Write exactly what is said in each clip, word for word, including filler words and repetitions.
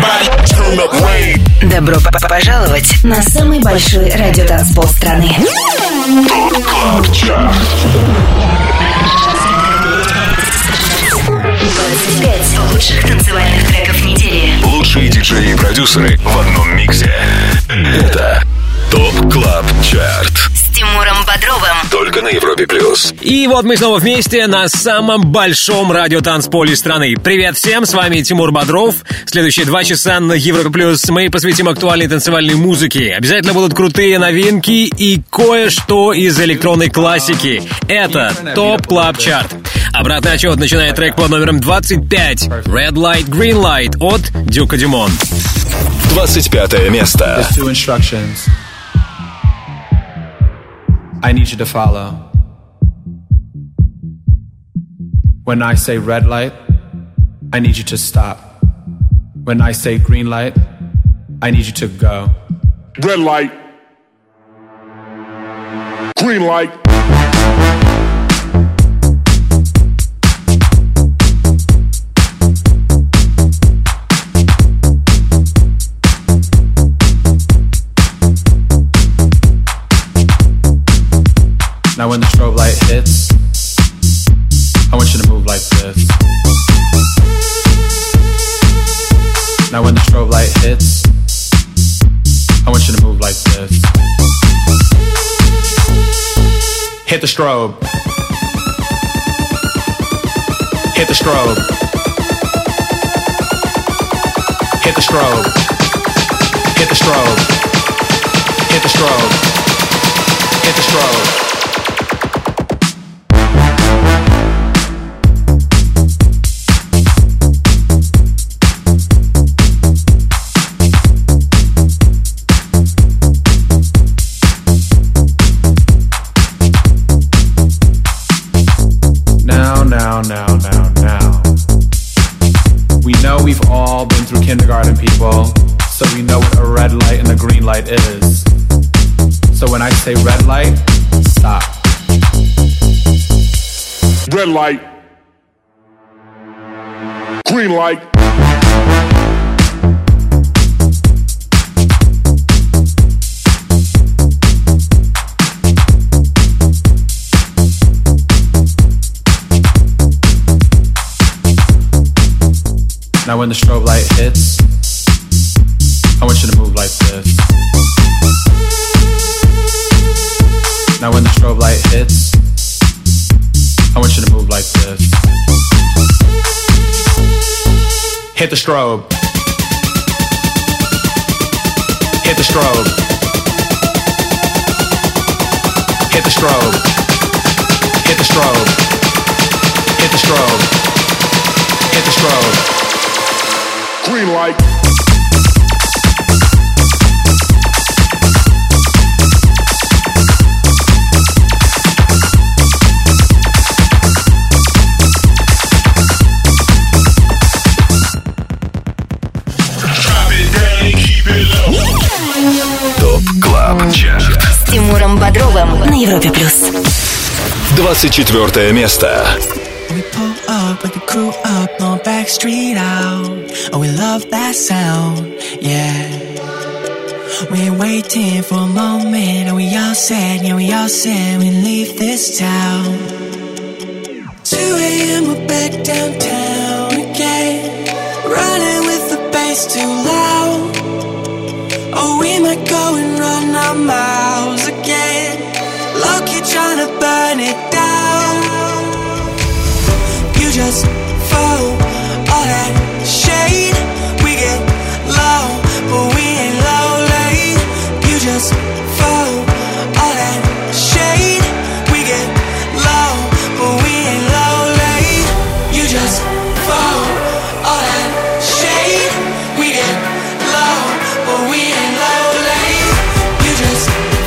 Добро пожаловать на самый большой радиотанцпол страны. двадцать пять лучших танцевальных треков недели. Лучшие диджеи и продюсеры в одном миксе. Это ТОП Клаб Чарт С Тимуром Бодровым. Только на Европе Плюс. И вот мы снова вместе на самом большом радиотанцполе страны. Привет всем, с вами Тимур Бодров. Следующие два часа на Европе Плюс мы посвятим актуальной танцевальной музыке. Обязательно будут крутые новинки и кое-что из электронной классики. Это ТОП Клаб Чарт. Обратный отчет начинает трек под номером двадцать пять. Red Light, Green Light от Дюка Дюмон. двадцать пятое место. I need you to follow. When I say red light, I need you to stop. When I say green light, I need you to go. Red light. Green light. Now when the strobe light hits, I want you to move like this. Now when the strobe light hits, I want you to move like this. Hit the strobe. Hit the strobe. Hit the strobe. Hit the strobe. Hit the strobe. Hit the strobe. Now, now, now, now. We know we've all been through kindergarten, people, so we know what a red light and a green light is. So when I say red light, stop. Red light. Green light. Now when the strobe light hits, I want you to move like this. Now when the strobe light hits, I want you to move like this. Hit the strobe. Hit the strobe. Hit the strobe. Hit the strobe. Hit the strobe. Hit the strobe. Green light. ТОП Клаб Чарт С Тимуром Бодровым на Европе Плюс. двадцать четвёртое место. We pull up with the crew up on Backstreet out. Oh, we love that sound, yeah. We're waiting for a moment. And we all said, yeah, we all said we leave this town. two a.m. we're back downtown again. Running with the bass too loud. Oh, we might go and run our mouths again. Low-key trying to burn it down. You just follow all that shade. We get low, but we ain't low late. You just follow all that shade. We get low, but we ain't low late. You just follow all that shade. We get low, but we ain't low late. You just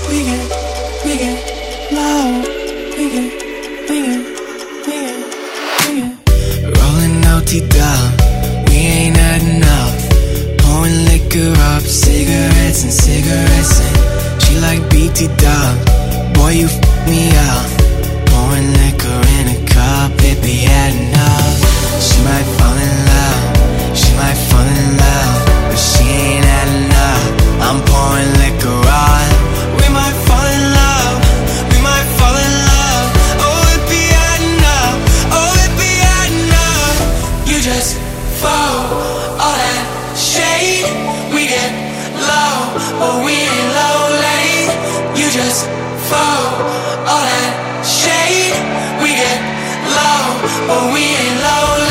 we get, we get low. We get, we get, we get, we get. Rolling O T down, we ain't had enough. Pouring liquor up, cigarettes and cigarettes and she like B T dub. Boy, you f*** me up. Pouring liquor in a cup, it be had enough. She might fall in love, she might fall in love, but she ain't had enough. I'm pouring liquor on. We might fall in love, we might fall in love. Oh, it be had enough, oh, it be had enough. You just fall, all that shade. We get low, but we ain't low late. You just fall, all that shade. We get low, but we ain't low late.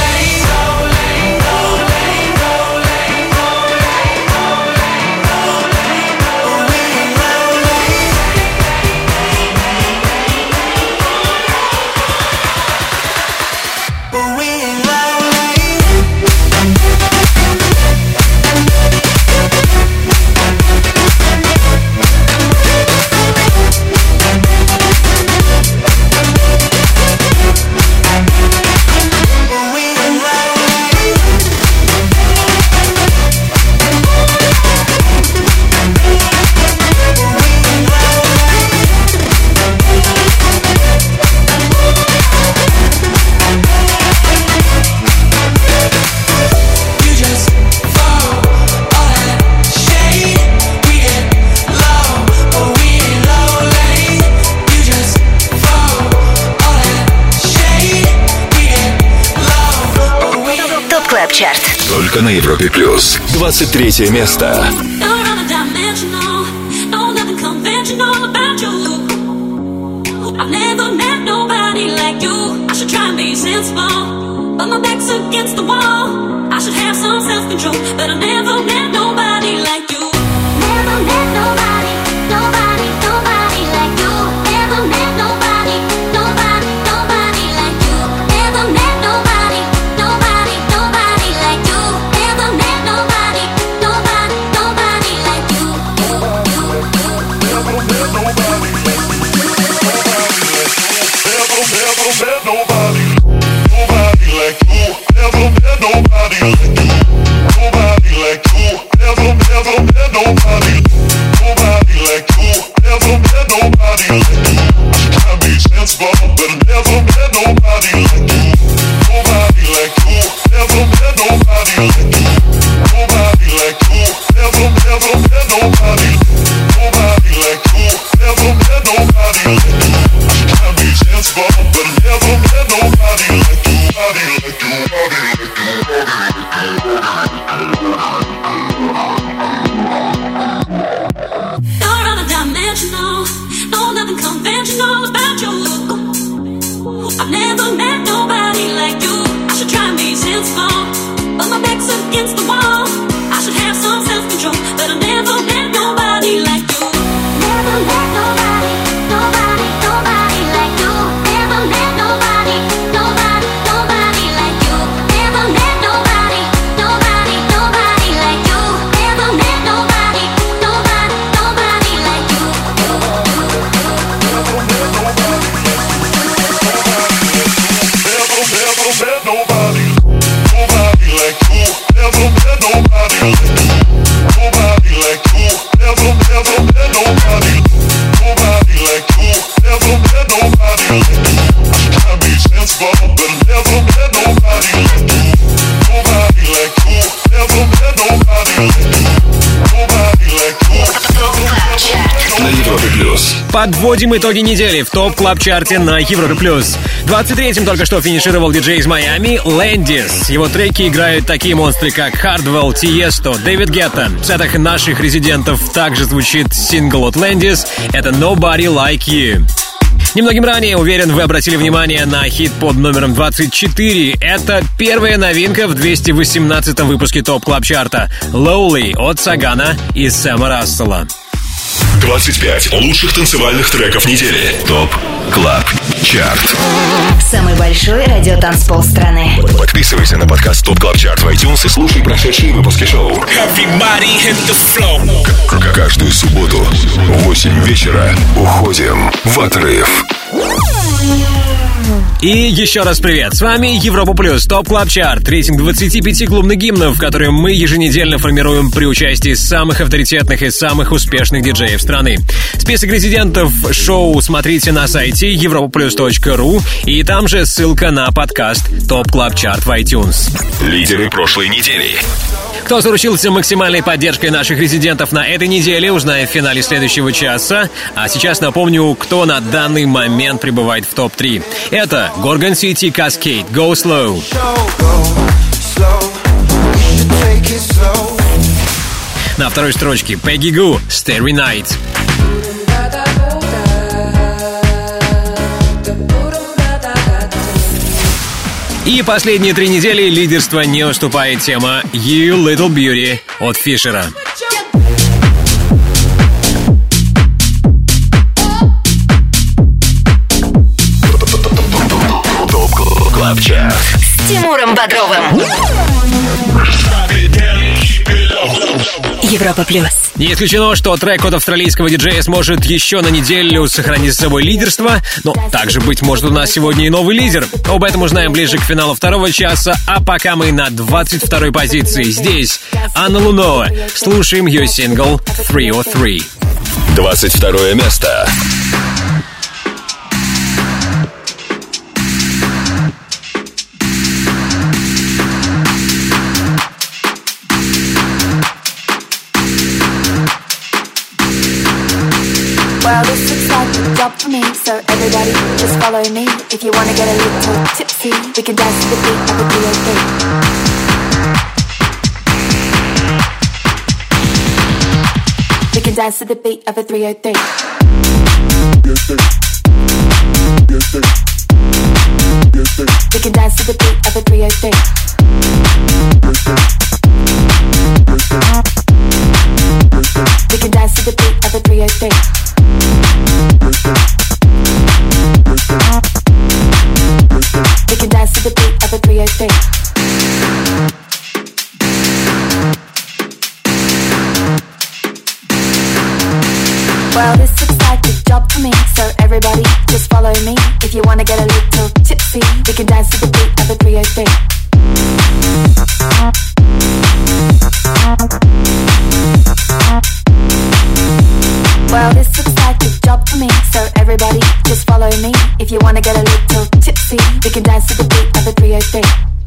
Чарт. Только на Европе плюс. двадцать третье место. Подводим итоги недели в топ-клаб-чарте на Европе плюс. двадцать третьим только что финишировал диджей из Майами Landis. Его треки играют такие монстры, как Hardwell, Tiesto, Дэвид Гетта. В сетах наших резидентов также звучит сингл от Landis. Это Nobody Like You. Немногим ранее, уверен, вы обратили внимание на хит под номером двадцать четыре. Это первая новинка в двести восемнадцатом выпуске топ-клаб-чарта. Lowly от Сагана и Сэма Рассела. двадцать пять лучших танцевальных треков недели. ТОП Клаб Чарт. Самый большой радиотанцпол страны. Подписывайся на подкаст ТОП Клаб Чарт в iTunes и слушай прошедшие выпуски шоу. К- Каждую субботу в восемь вечера уходим в отрыв. И еще раз привет, с вами Европа Плюс, ТОП Клаб Чарт, рейтинг двадцати пяти клубных гимнов, которые мы еженедельно формируем при участии самых авторитетных и самых успешных диджеев страны. Список резидентов шоу смотрите на сайте европа плюс точка ру, и там же ссылка на подкаст ТОП Клаб Чарт в iTunes. Лидеры прошлой недели. Кто заручился максимальной поддержкой наших резидентов на этой неделе, узнаем в финале следующего часа. А сейчас напомню, кто на данный момент пребывает в топ три. Это Gorgon City Cascade, Go Slow. На второй строчке Peggy Gou, Starry Night. И последние три недели лидерство не уступает тема You Little Beauty от Фишера. ТОП Клаб Чарт С Тимуром Бодровым. Европа Плюс. Не исключено, что трек от австралийского диджея сможет еще на неделю сохранить за собой лидерство, но также, быть может, у нас сегодня и новый лидер. Об этом узнаем ближе к финалу второго часа, а пока мы на двадцать второй позиции. Здесь Анна Луноа. Слушаем ее сингл три о три. двадцать второе место. Well, this looks like a job for me, so everybody just follow me. If you wanna get a little tipsy, we can dance to the beat of a three oh three. We can dance to the beat of a three oh three. We can dance to the beat of a three oh three. We can dance to the beat of a three oh three. We can dance to the beat of a three oh three. Well, this looks like a job for me, so everybody just follow me. If you wanna get a little tipsy, we can dance to the beat of a three oh three. Well, this looks like a job for me, so everybody just follow me. If you wanna get a little tipsy, we can dance to the beat of a three oh three.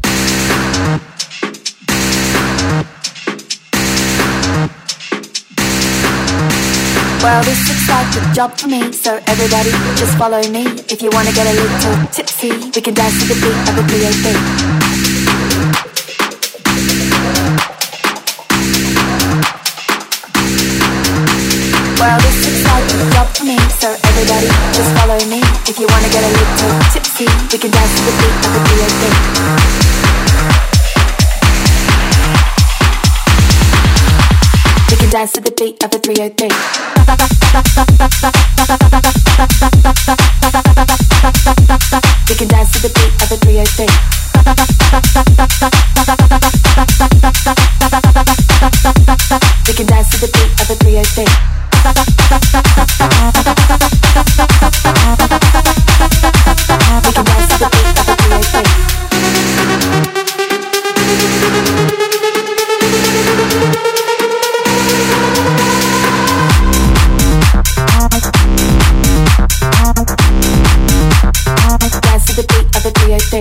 Well, this looks like a job for me, so everybody just follow me. If you wanna get a little tipsy, we can dance to the beat of a three oh three. Well, this looks like a job for me, so everybody just follow me. If you wanna get a little tipsy, we can dance to the beat of a three oh three. We can dance to the beat of a three oh three. We can dance to the beat of a three oh three. We can dance to the beat of a three oh three. We can dance to the beat of a three oh three. Dance to the beat of a three oh three.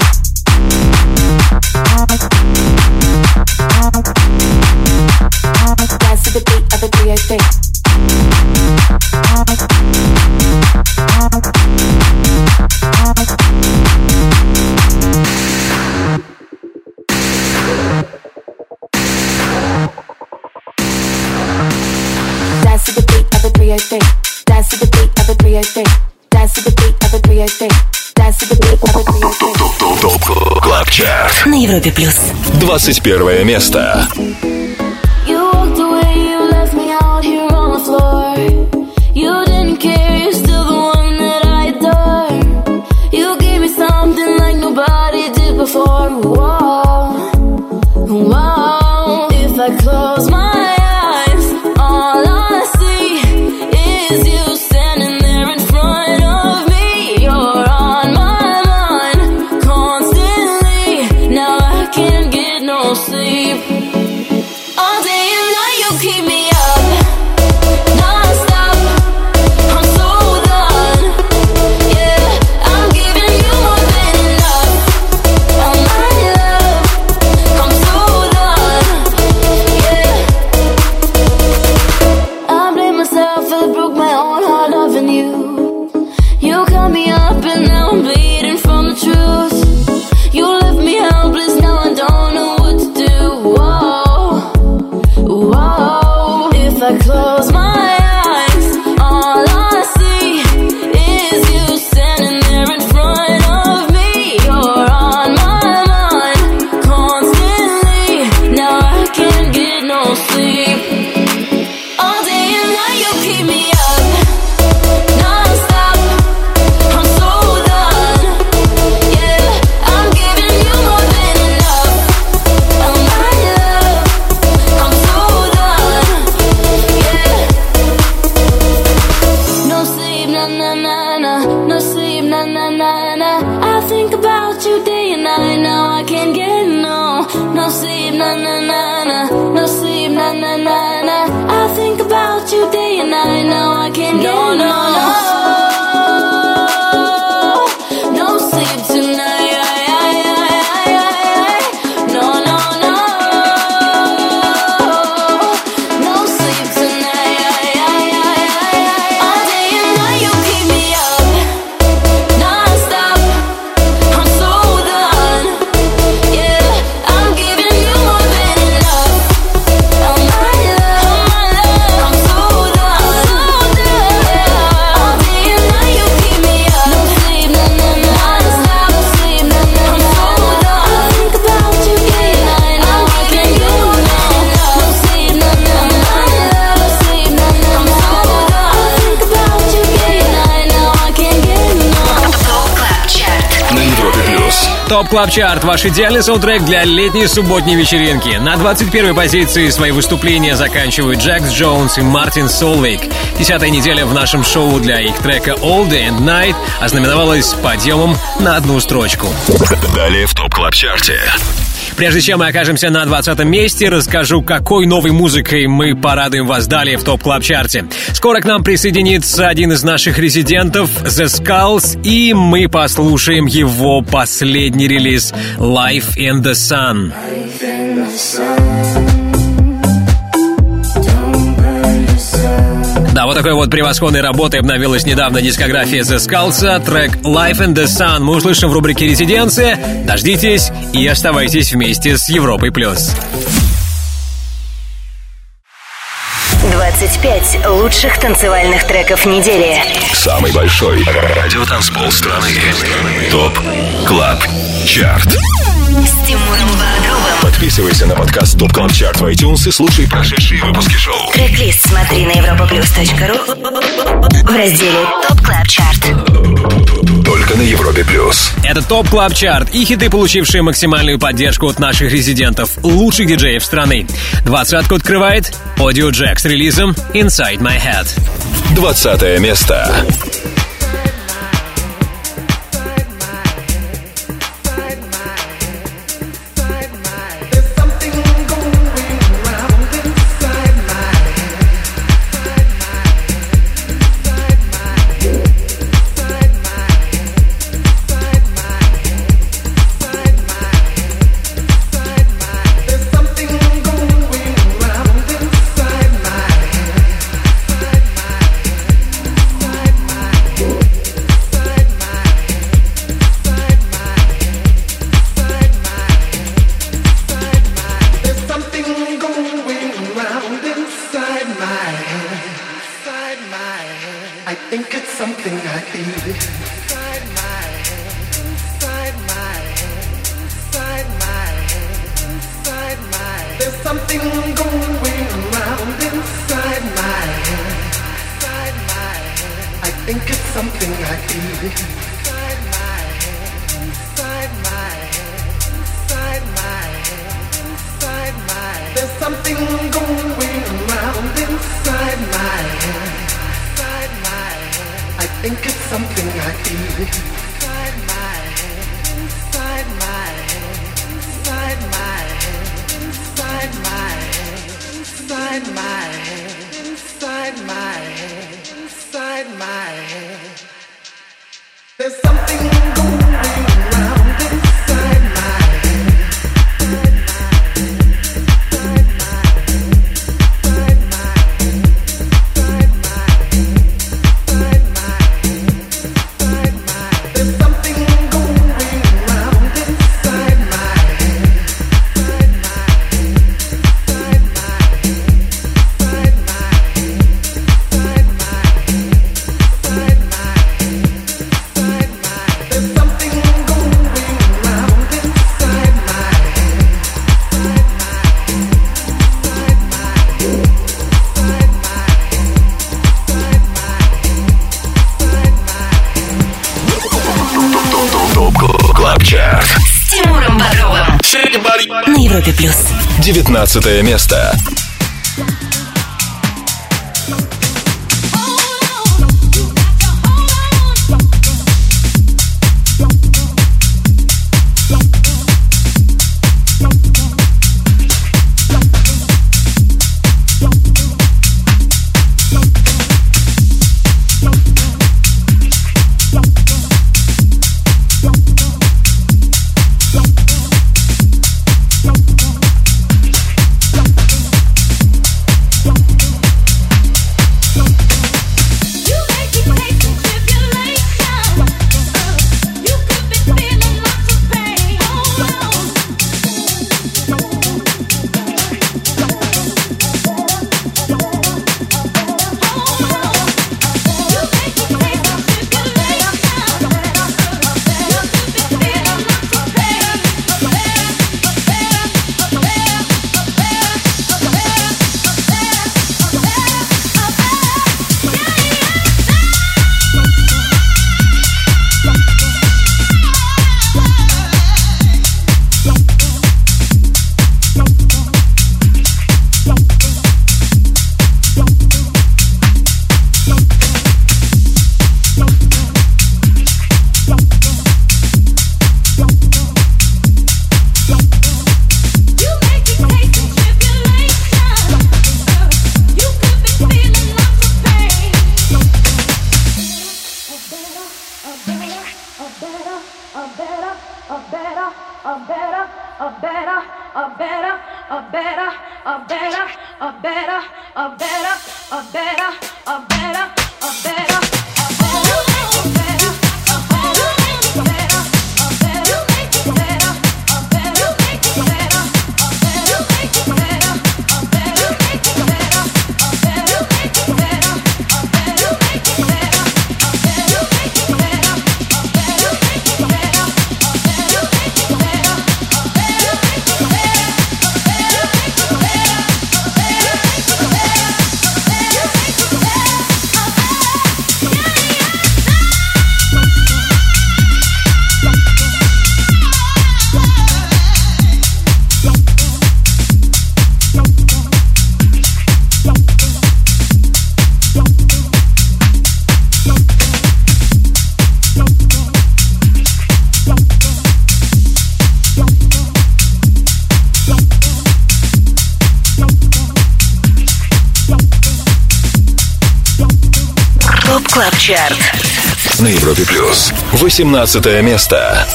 Dance to the beat of a three oh three. Dance to the beat of a three oh three. Dance to the beat of a three oh three. Dance to the beat of a three oh three. Dance to the beat of a three oh three. ТОП Клаб Чарт. На Европе Плюс. двадцать первое место. You walked away, you left me out here on the floor. na na na na, no sleep, na na na na. I think about you day and night, now I can't get no, no sleep, na na na na, no sleep, na na na na. I think about you day and night, now I can't get no, no, no, no sleep tonight. Топ Клаб Чарт – ваш идеальный саундтрек для летней субботней вечеринки. На двадцать первой позиции свои выступления заканчивают Джекс Джонс и Мартин Солвейк. Десятая неделя в нашем шоу для их трека All Day and Night ознаменовалась подъемом на одну строчку. Далее в Топ Клаб Чарте. Прежде чем мы окажемся на двадцатом месте, расскажу, какой новой музыкой мы порадуем вас далее в Топ Клаб Чарте. Скоро к нам присоединится один из наших резидентов, The Skulls, и мы послушаем его последний релиз Life in the Sun. Life in the sun. Да, вот такой вот превосходной работой обновилась недавно дискография The Skulls. Трек Life in the Sun мы услышим в рубрике «Резиденция». Дождитесь и оставайтесь вместе с Европой+. двадцать пять лучших танцевальных треков недели. Самый большой радиотанцпол страны. Топ Клаб Чарт. С Тимуром Бодровым. Подписывайся на подкаст Топ Клаб Чарт в iTunes и слушай прошедшие выпуски шоу. Трек-лист смотри на европаплюс точка ру в разделе Топ Клаб Чарт. Только на Европе Плюс. Это Топ Клаб Чарт и хиты, получившие максимальную поддержку от наших резидентов, лучших диджеев страны. Двадцатку открывает Audio Jack с релизом Inside My Head. Двадцатое место. На Европе Плюс. Девятнадцатое место. Клаб Чарт на Европе Плюс. восемнадцатое место.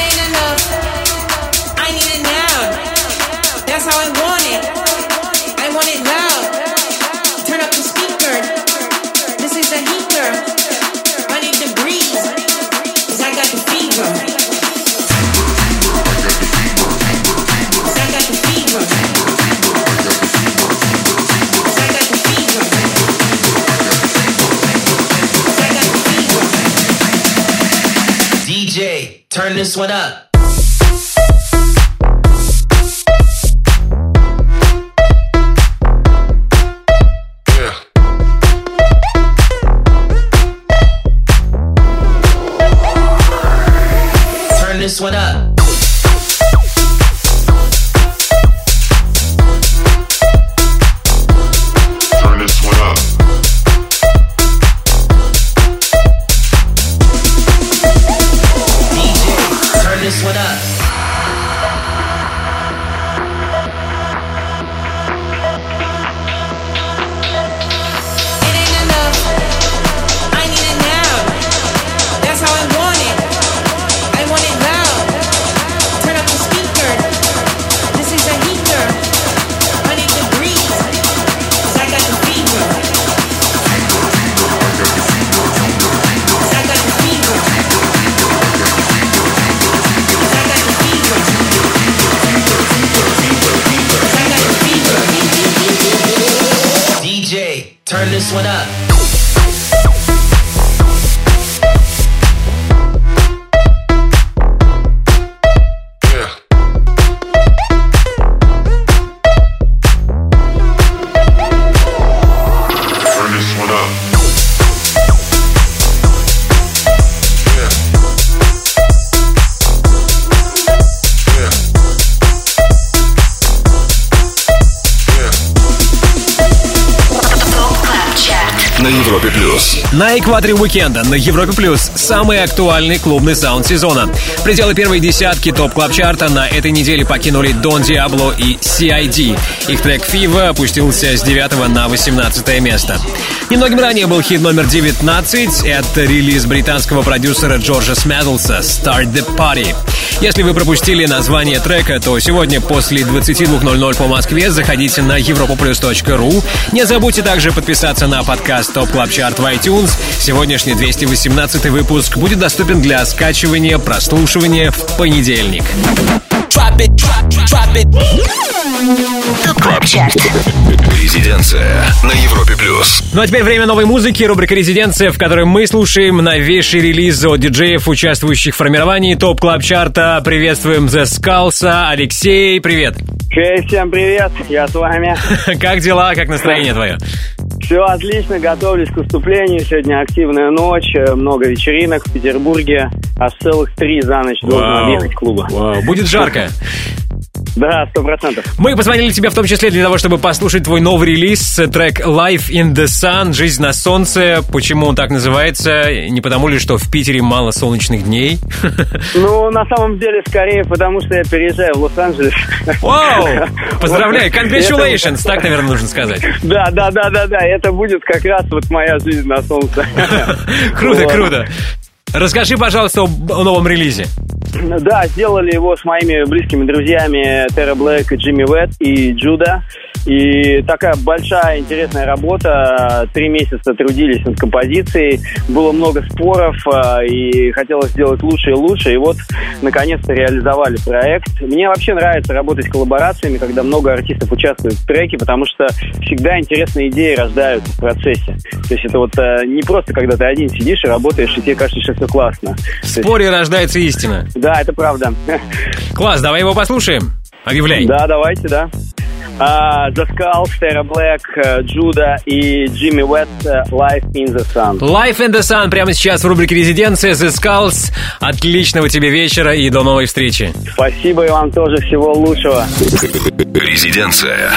Turn this one up. Yeah. Turn this one up. Turn this one up. This one up. It ain't enough. I need it now. That's how I want it. I want it loud. Turn up the speaker. This is a heater. I need the breeze. 'Cause I got the fever. 'Cause I got the fever. D J, turn this one up. Yeah. Turn this one up. На Европе Плюс. На экваторе уикенда на Европе Плюс самый актуальный клубный саунд сезона. Пределы первой десятки топ клаб чарта на этой неделе покинули Don Diablo и си ай ди. Их трек Fever опустился с девятого на восемнадцатое место. Немногим ранее был хит номер девятнадцать. Это релиз британского продюсера Джорджа Смэдлса «Start the Party». Если вы пропустили название трека, то сегодня после двадцати двух ноль ноль по Москве заходите на европа плюс точка ру. Не забудьте также подписаться на подкаст Топ Клаб Чарт в iTunes. Сегодняшний двести восемнадцатый выпуск будет доступен для скачивания, прослушивания в понедельник. Топ Клаб Чарт. Резиденция на Европе Плюс. Ну а теперь время новой музыки, рубрика «Резиденция», в которой мы слушаем новейшие релизы от диджеев, участвующих в формировании Топ Клаб Чарта. Приветствуем The Skulls. Алексей, привет. Хей, всем привет, я с вами. Как дела, как настроение твое? Все отлично, готовлюсь к выступлению. Сегодня активная ночь, много вечеринок в Петербурге. Аж целых три за ночь должен объехать клуба. Вау. Будет жарко. Да, сто процентов. Мы позвонили тебе в том числе для того, чтобы послушать твой новый релиз, трек Life in the Sun, «Жизнь на солнце». Почему он так называется? Не потому ли, что в Питере мало солнечных дней? Ну, на самом деле, скорее, потому что я переезжаю в Лос-Анджелес. Вау! Поздравляю! Congratulations! Так, наверное, нужно сказать. Да, да, да, да, да. Это будет как раз вот моя жизнь на солнце. Круто, круто. Расскажи, пожалуйста, о новом релизе. Да, сделали его с моими близкими друзьями Terra Black, Джимми Уэт и Джуда. И такая большая, интересная работа. Три месяца трудились над композицией. Было много споров, и хотелось сделать лучше и лучше. И вот, наконец-то, реализовали проект. Мне вообще нравится работать с коллаборациями, когда много артистов участвуют в треке, потому что всегда интересные идеи рождаются в процессе. То есть это вот не просто, когда ты один сидишь и работаешь, и тебе кажется, что все классно. В споре есть... рождается истина. Да, это правда. Класс, давай его послушаем. Объявляй. Да, давайте, да. Uh, The Skulls, Terra Black, uh, Джуда и Джимми Уэт, uh, Life in the Sun. Life in the Sun прямо сейчас в рубрике «Резиденция». The Skulls. Отличного тебе вечера и до новой встречи. Спасибо, и вам тоже всего лучшего. Резиденция.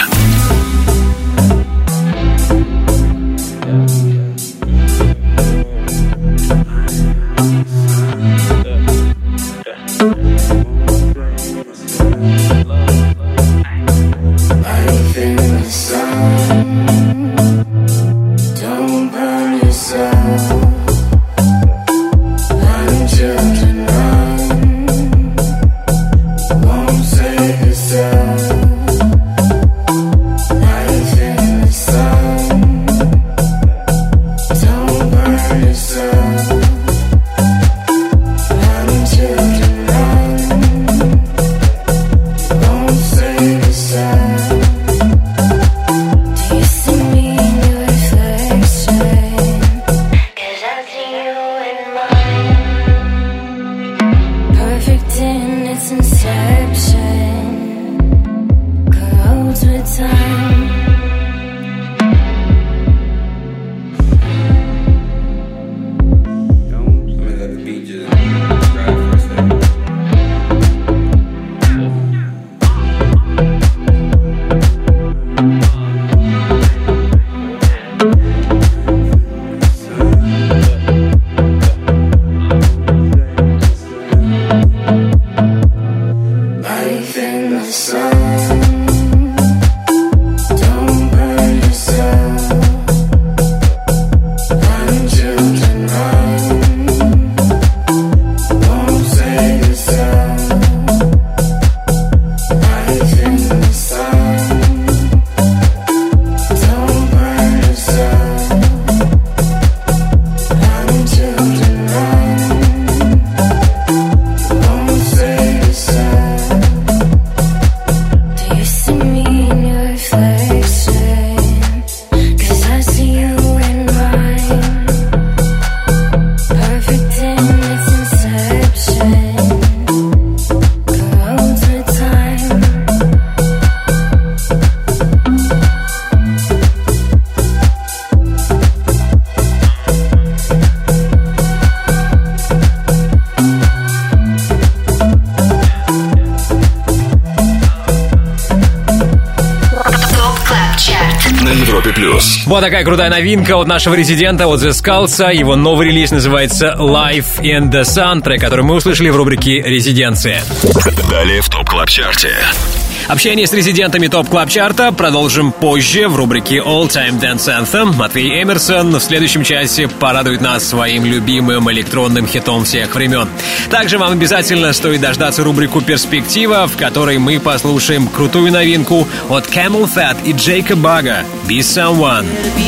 Вот такая крутая новинка от нашего резидента, от The Skulls. Его новый релиз называется Life in the Sun, трек, который мы услышали в рубрике «Резиденция». Далее в ТОП Клаб Чарте. Общение с резидентами ТОП Клаб Чарта продолжим позже в рубрике All Time Dance Anthem. Матвей Эмерсон в следующем часе порадует нас своим любимым электронным хитом всех времен. Также вам обязательно стоит дождаться рубрику «Перспектива», в которой мы послушаем крутую новинку от Camel Fat и Джейка Бага «Be Someone».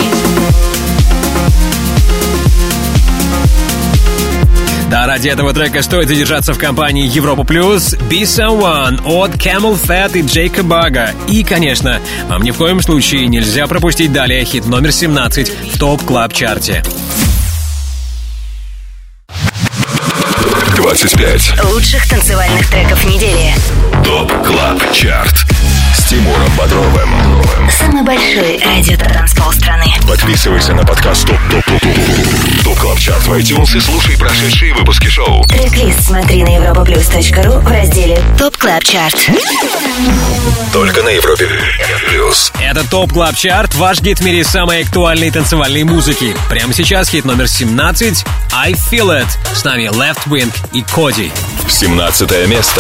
Да, ради этого трека стоит задержаться в компании Европа Плюс. Be Someone от Camel Fat и Джейка Бага. И, конечно, вам ни в коем случае нельзя пропустить далее хит номер семнадцать в ТОП Клаб Чарте. двадцать пять лучших танцевальных треков недели. ТОП Клаб Чарт с Тимуром Бодровым. Самый большой радиотанцпол страны. Подписывайся на подкаст ТОП ТОП ТОП ТОП Клаб Чарт в iTunes и слушай прошедшие выпуски шоу. Трек-лист смотри на европаплюс точка ру в разделе ТОП Клаб Чарт. Только на Европе Плюс. Это ТОП Клаб Чарт, ваш гид в мире самой актуальной танцевальной музыки. Прямо сейчас хит номер семнадцать I Feel It. С нами Left Wing и Коди. семнадцатое место.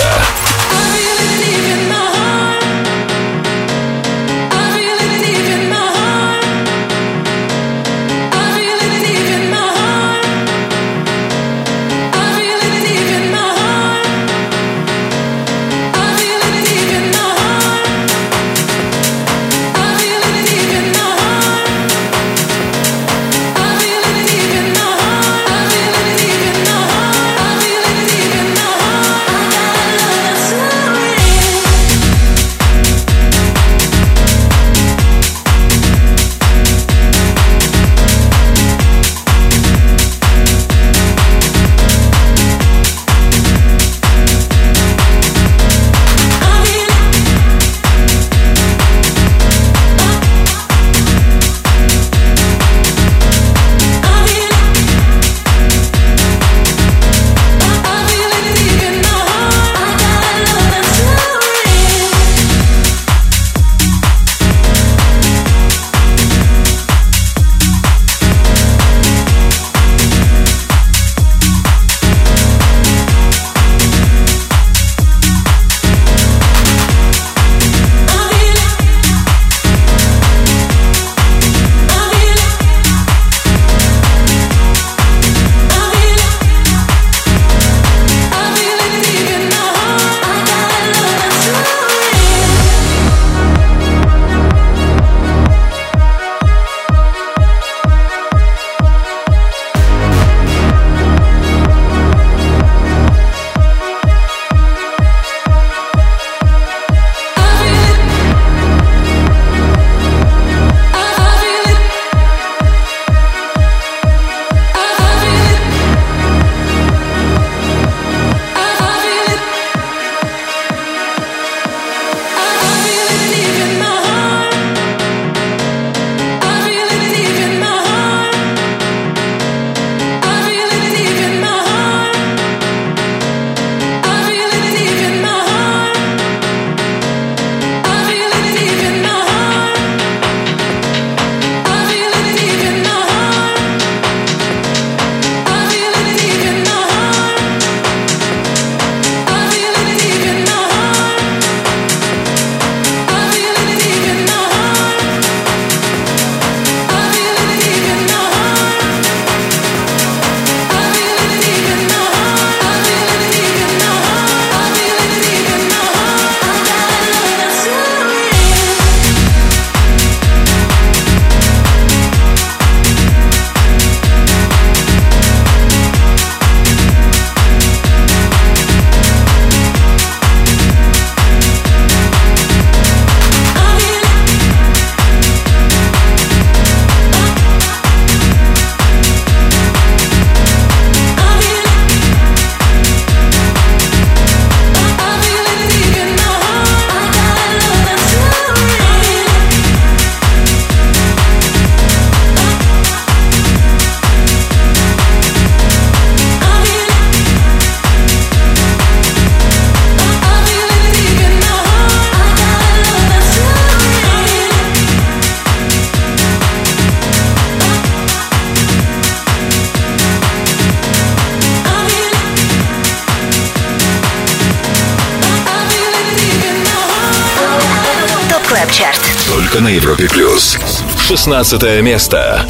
только на Европе плюс. шестнадцатое место.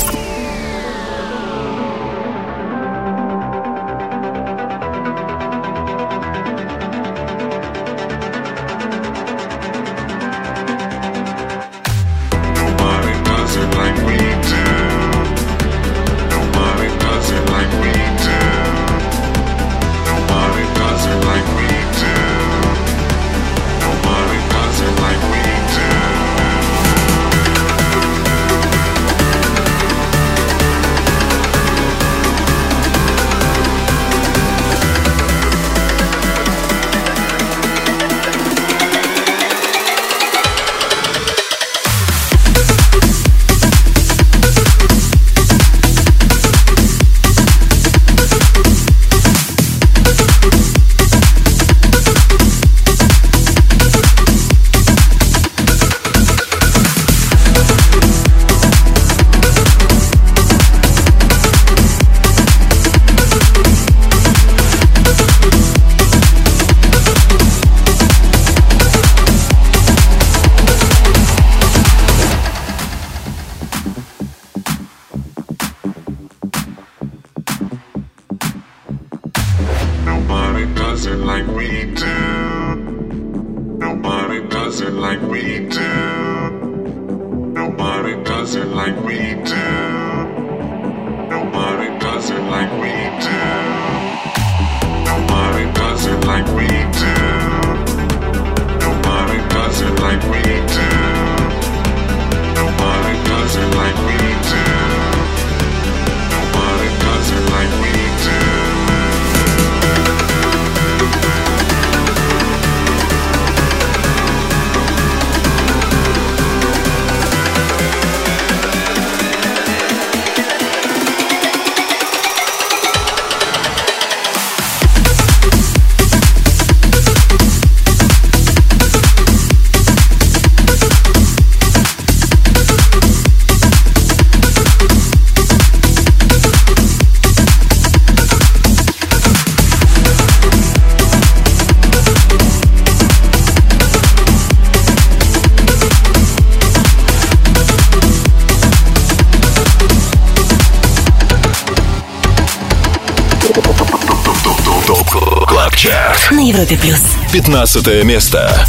На Европе плюс. пятнадцатое место.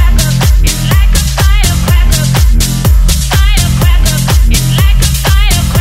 It's like a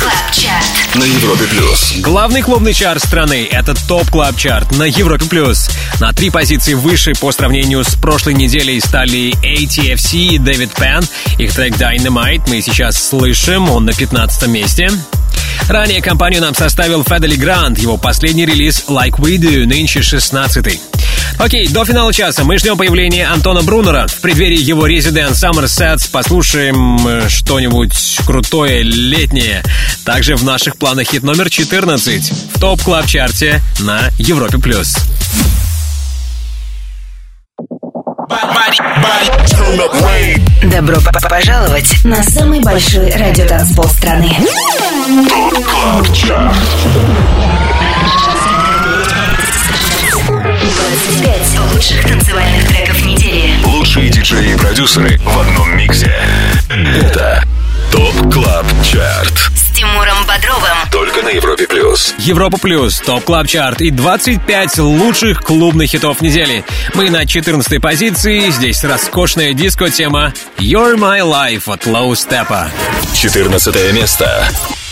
Клаб Чарт на Европе плюс. Главный клубный чарт страны — это ТОП Клаб Чарт на Европе плюс. На три позиции выше по сравнению с прошлой неделей стали эй ти эф си и Дэвид Пен. Их трек Dynamite мы сейчас слышим, он на пятнадцатом месте. Ранее компанию нам составил Федели Грант, его последний релиз Like We Do, нынче шестнадцатый. Окей, до финала часа мы ждем появления Антона Брунера. В преддверии его Resident Summer Sets послушаем что-нибудь крутое, летнее. Также в наших планах хит номер четырнадцать в ТОП Клаб Чарте на Европе плюс. Добро пожаловать на самый большой радиотанцпол страны. ТОП Клаб Чарт. двадцать пять лучших танцевальных треков недели. Лучшие диджеи и продюсеры в одном миксе. Это ТОП Клаб Чарт С Тимуром Бодровым. только на Европе плюс. Европа плюс, ТОП Клаб Чарт и двадцать пять лучших клубных хитов недели. Мы на четырнадцатой позиции. Здесь роскошная диско-тема You're My Life от Low Steppa. четырнадцатое место.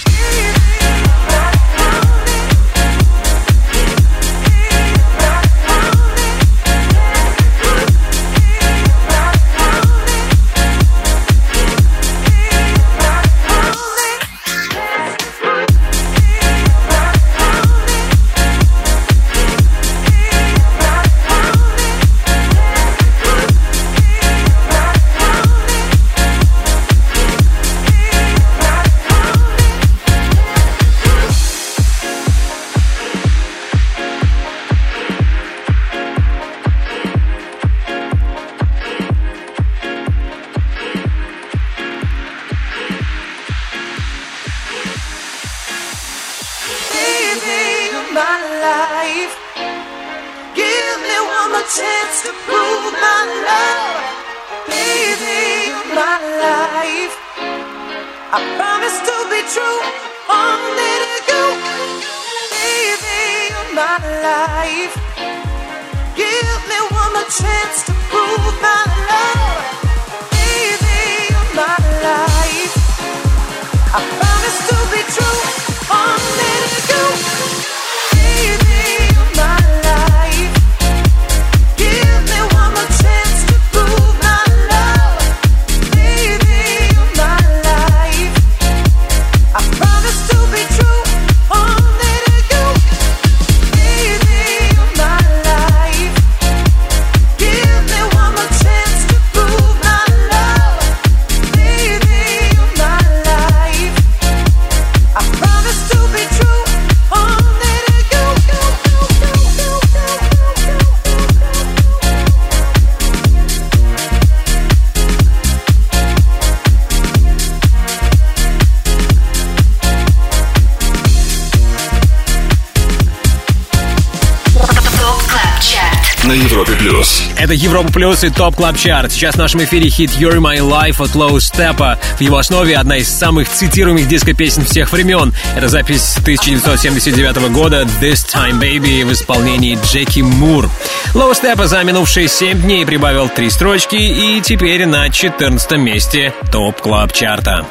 На Европе плюс. Это Европа плюс и ТОП Клаб Чарт. Сейчас в нашем эфире хит You're My Life от Low Steppa. В его основе одна из самых цитируемых диско-песен всех времен. Это запись тысяча девятьсот семьдесят девятого года This Time Baby в исполнении Джеки Мур. Low Steppa за минувшие семь дней прибавил три строчки и теперь на четырнадцатом месте ТОП Клаб Чарта.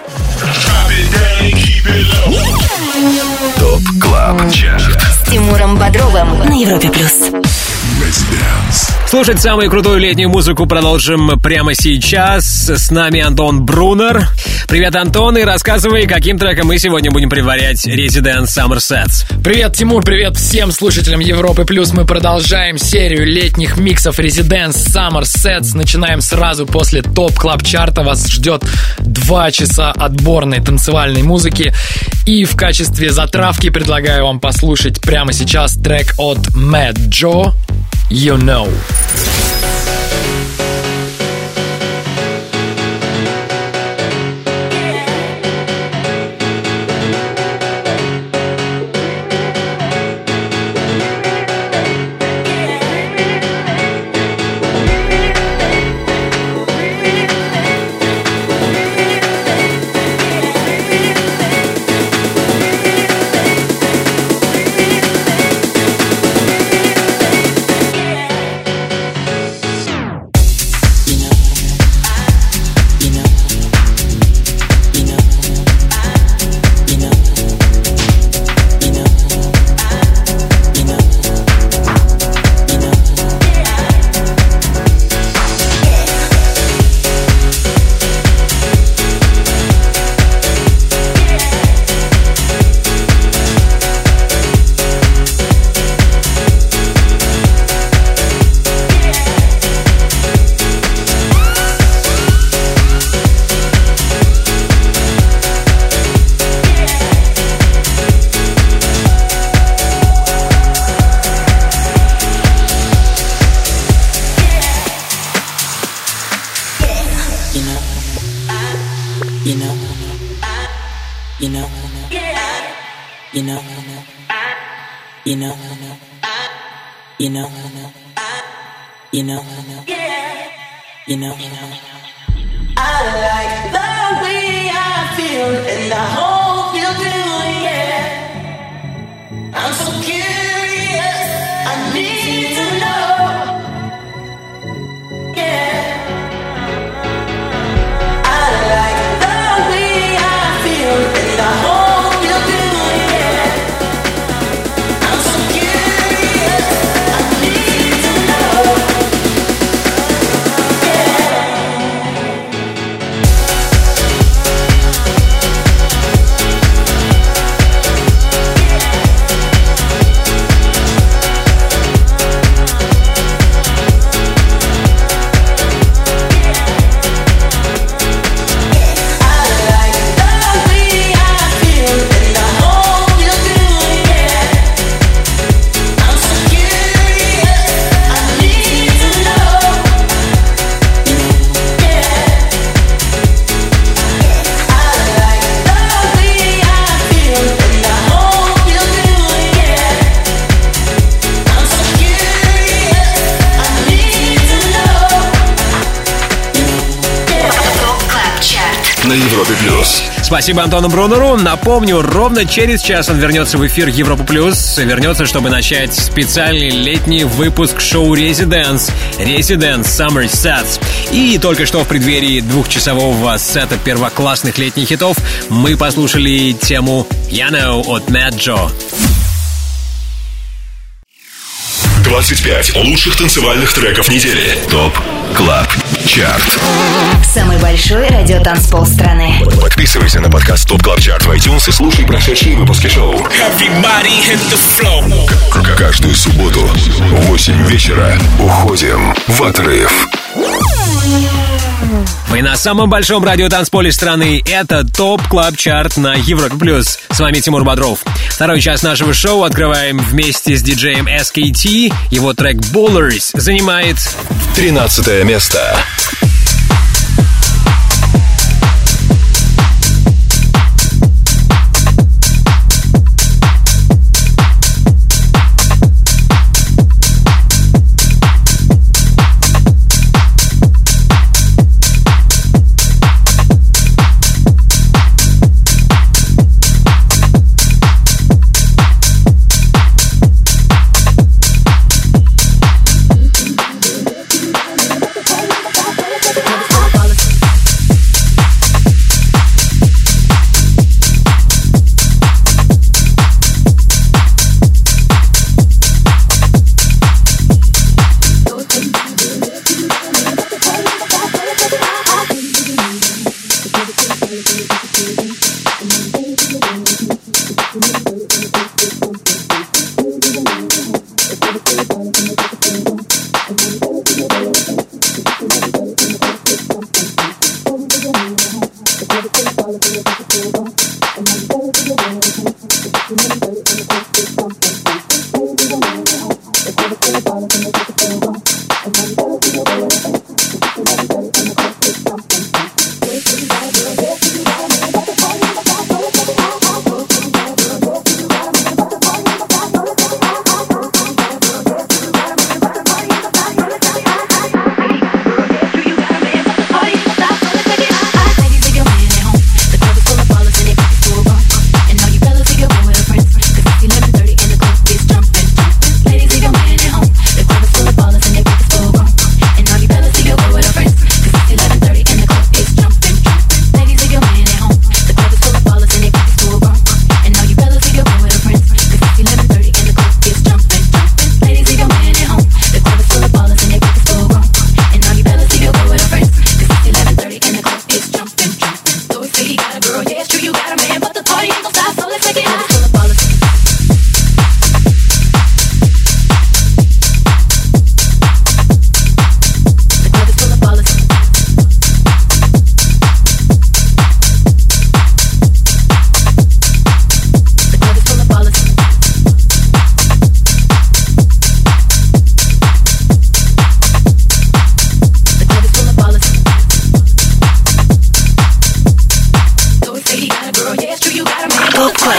ТОП Клаб Чарт С Тимуром Бодровым на Европе плюс. Слушать самую крутую летнюю музыку продолжим прямо сейчас. С нами Антон Брунер. Привет, Антон, и рассказывай, каким треком мы сегодня будем предварять Resident Summer Sets. Привет, Тимур, привет всем слушателям Европы Плюс. Мы продолжаем серию летних миксов Resident Summer Sets. Начинаем сразу после ТОП Клаб Чарта. Вас ждет два часа отборной танцевальной музыки. И в качестве затравки предлагаю вам послушать прямо сейчас трек от Mad Joe You Know. know, you know, you know, you know, you know, you know, you know, I like the way I feel, and I hope you do, yeah. I'm so curious, I need to know, yeah. I like the way I feel, and I hope you do, yeah. I'm so curious, I need to know, yeah. На Европе плюс. Спасибо Антону Брунеру. Напомню, ровно через час он вернется в эфир Европа Плюс. Вернется, чтобы начать специальный летний выпуск шоу Residence. Residence Summer Sets. И только что в преддверии двухчасового сета первоклассных летних хитов мы послушали тему You Know от Mad Joe. двадцать пять лучших танцевальных треков недели. ТОП Клаб Чарт. Самый большой радиотанцпол страны. Подписывайся на подкаст ТОП Клаб Чарт в iTunes и слушай прошедшие выпуски шоу. К- Каждую субботу в восемь вечера уходим в отрыв. Вы на самом большом радиотанцполе страны. Это ТОП Клаб Чарт на Европе Плюс. С вами Тимур Бодров. Второй час нашего шоу открываем вместе с диджеем эс кей ти. Его трек Ballers занимает тринадцатое место.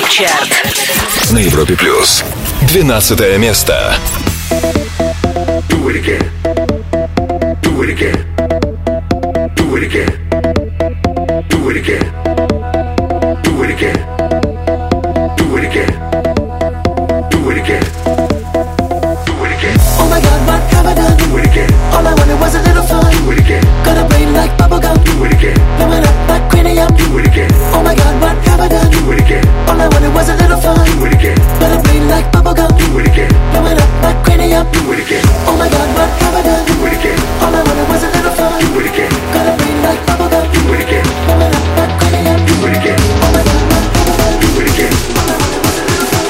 Клаб Чарт на Европе плюс. Двенадцатое место. Do it again. Do it again. Do it again. Do it again. Do it again. Do it again. Do it again. Do it again. Oh my God, what have I done? Do it again. All I wanted was a little fun. Do it again. Got a brain like bubblegum. Do it again. Blowing up like cranium. Do it again. Oh my God, what have I done? Do it again. All I wanted was a little fun. Do it again. Got a brain like bubblegum. Do it again. Blowing up like cranium. Do it again. Oh my God, what have I done? Do it again. All I wanted was a little fun. Do it again. Got a brain like bubblegum. Do it again. Blowing up like cranium. Do it again. Oh my God, what have I done? Do it again. All I wanted was a little fun.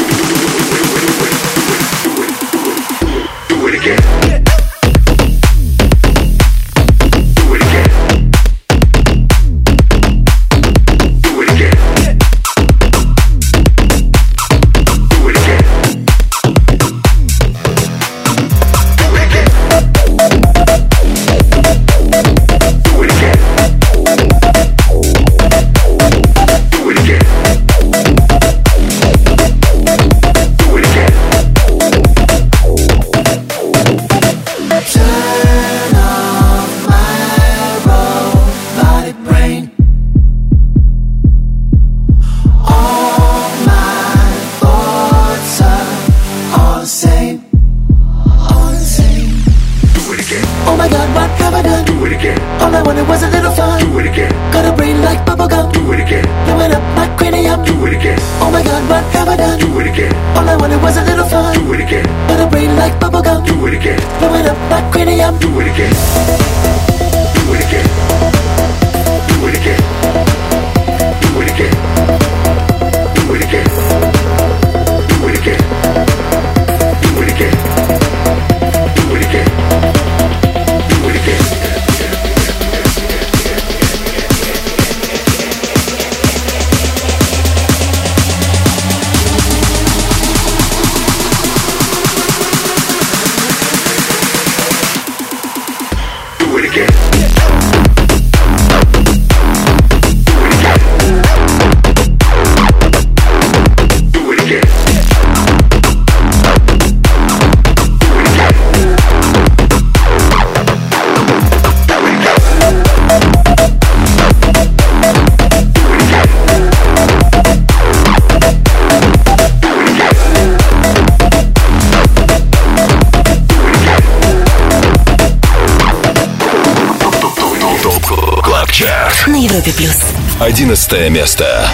Do it again. на Европе плюс. Одиннадцатое место.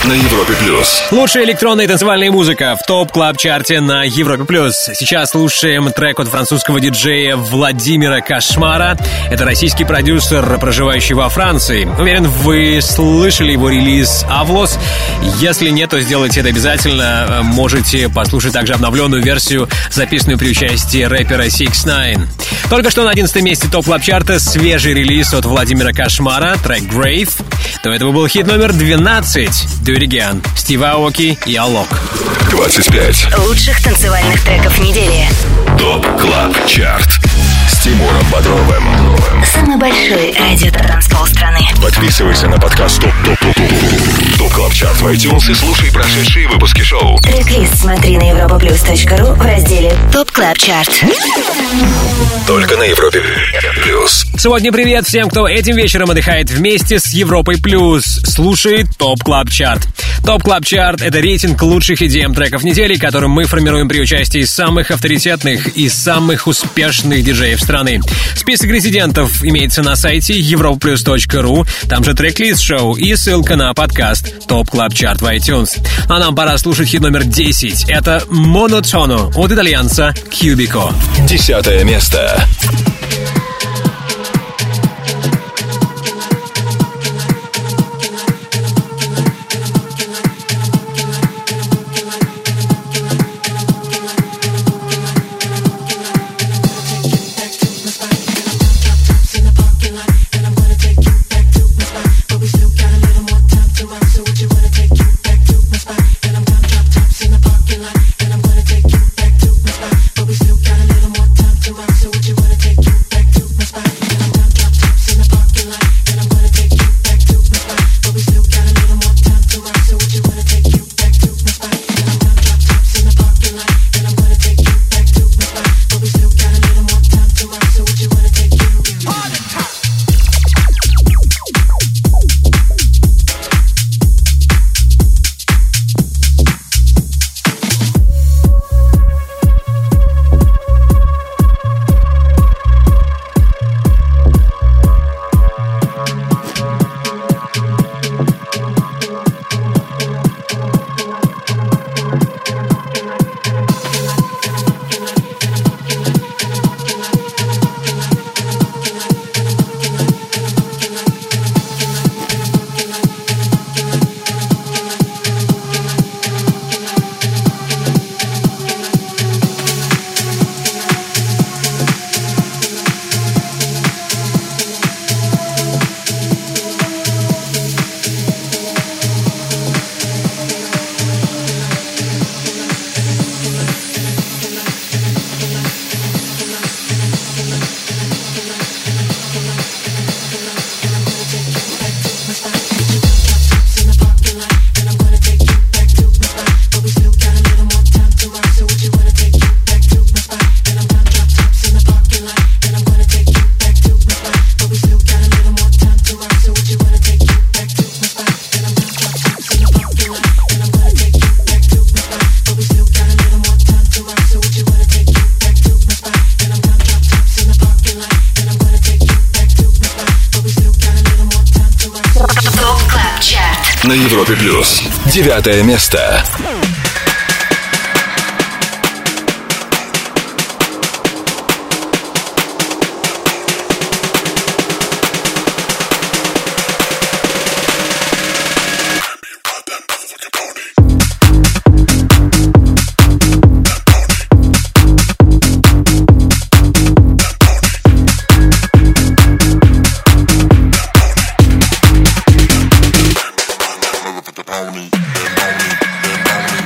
на Европе плюс. Лучшая электронная и танцевальная музыка в топ клаб чарте на Европе плюс. Сейчас слушаем трек от французского диджея Владимира Кошмара. Это российский продюсер, проживающий во Франции. Уверен, вы слышали его релиз «Авлос». Если нет, то сделайте это обязательно. Можете послушать также обновленную версию, записанную при участии рэпера сикс найн. Только что на одиннадцатом месте топ клаб чарта свежий релиз от Владимира Кошмара, трек «Grave». До этого был хит номер двенадцать «Do It Again», Стив Аоки и Алок. двадцать пять лучших танцевальных треков недели. топ клаб чарт с Тимуром Бодровым. Самый большой радио-транспол страны. Подписывайся на подкаст ТОП ТОП ТОП ТОП ТОП КЛАБ ЧАРТ в iTunes и слушай прошедшие выпуски шоу. Трек-лист смотри на европаплюс точка ру в разделе ТОП Клаб Чарт. Только на Европе плюс. Сегодня привет всем, кто этим вечером отдыхает вместе с Европой плюс. Слушает ТОП Клаб Чарт. ТОП Клаб Чарт — это рейтинг лучших и ди эм треков недели, которым мы формируем при участии самых авторитетных и самых успешных диджеев страны. Список резидентов имеется на сайте европа плюс точка ру, там же трек-лист шоу и ссылка на подкаст ТОП Клаб Чарт в iTunes. А нам пора слушать хит номер десять. Это «Monotono» от итальянца Кьюбико. Десятое место. На Европе плюс. Девятое место. Pony, pony, pony.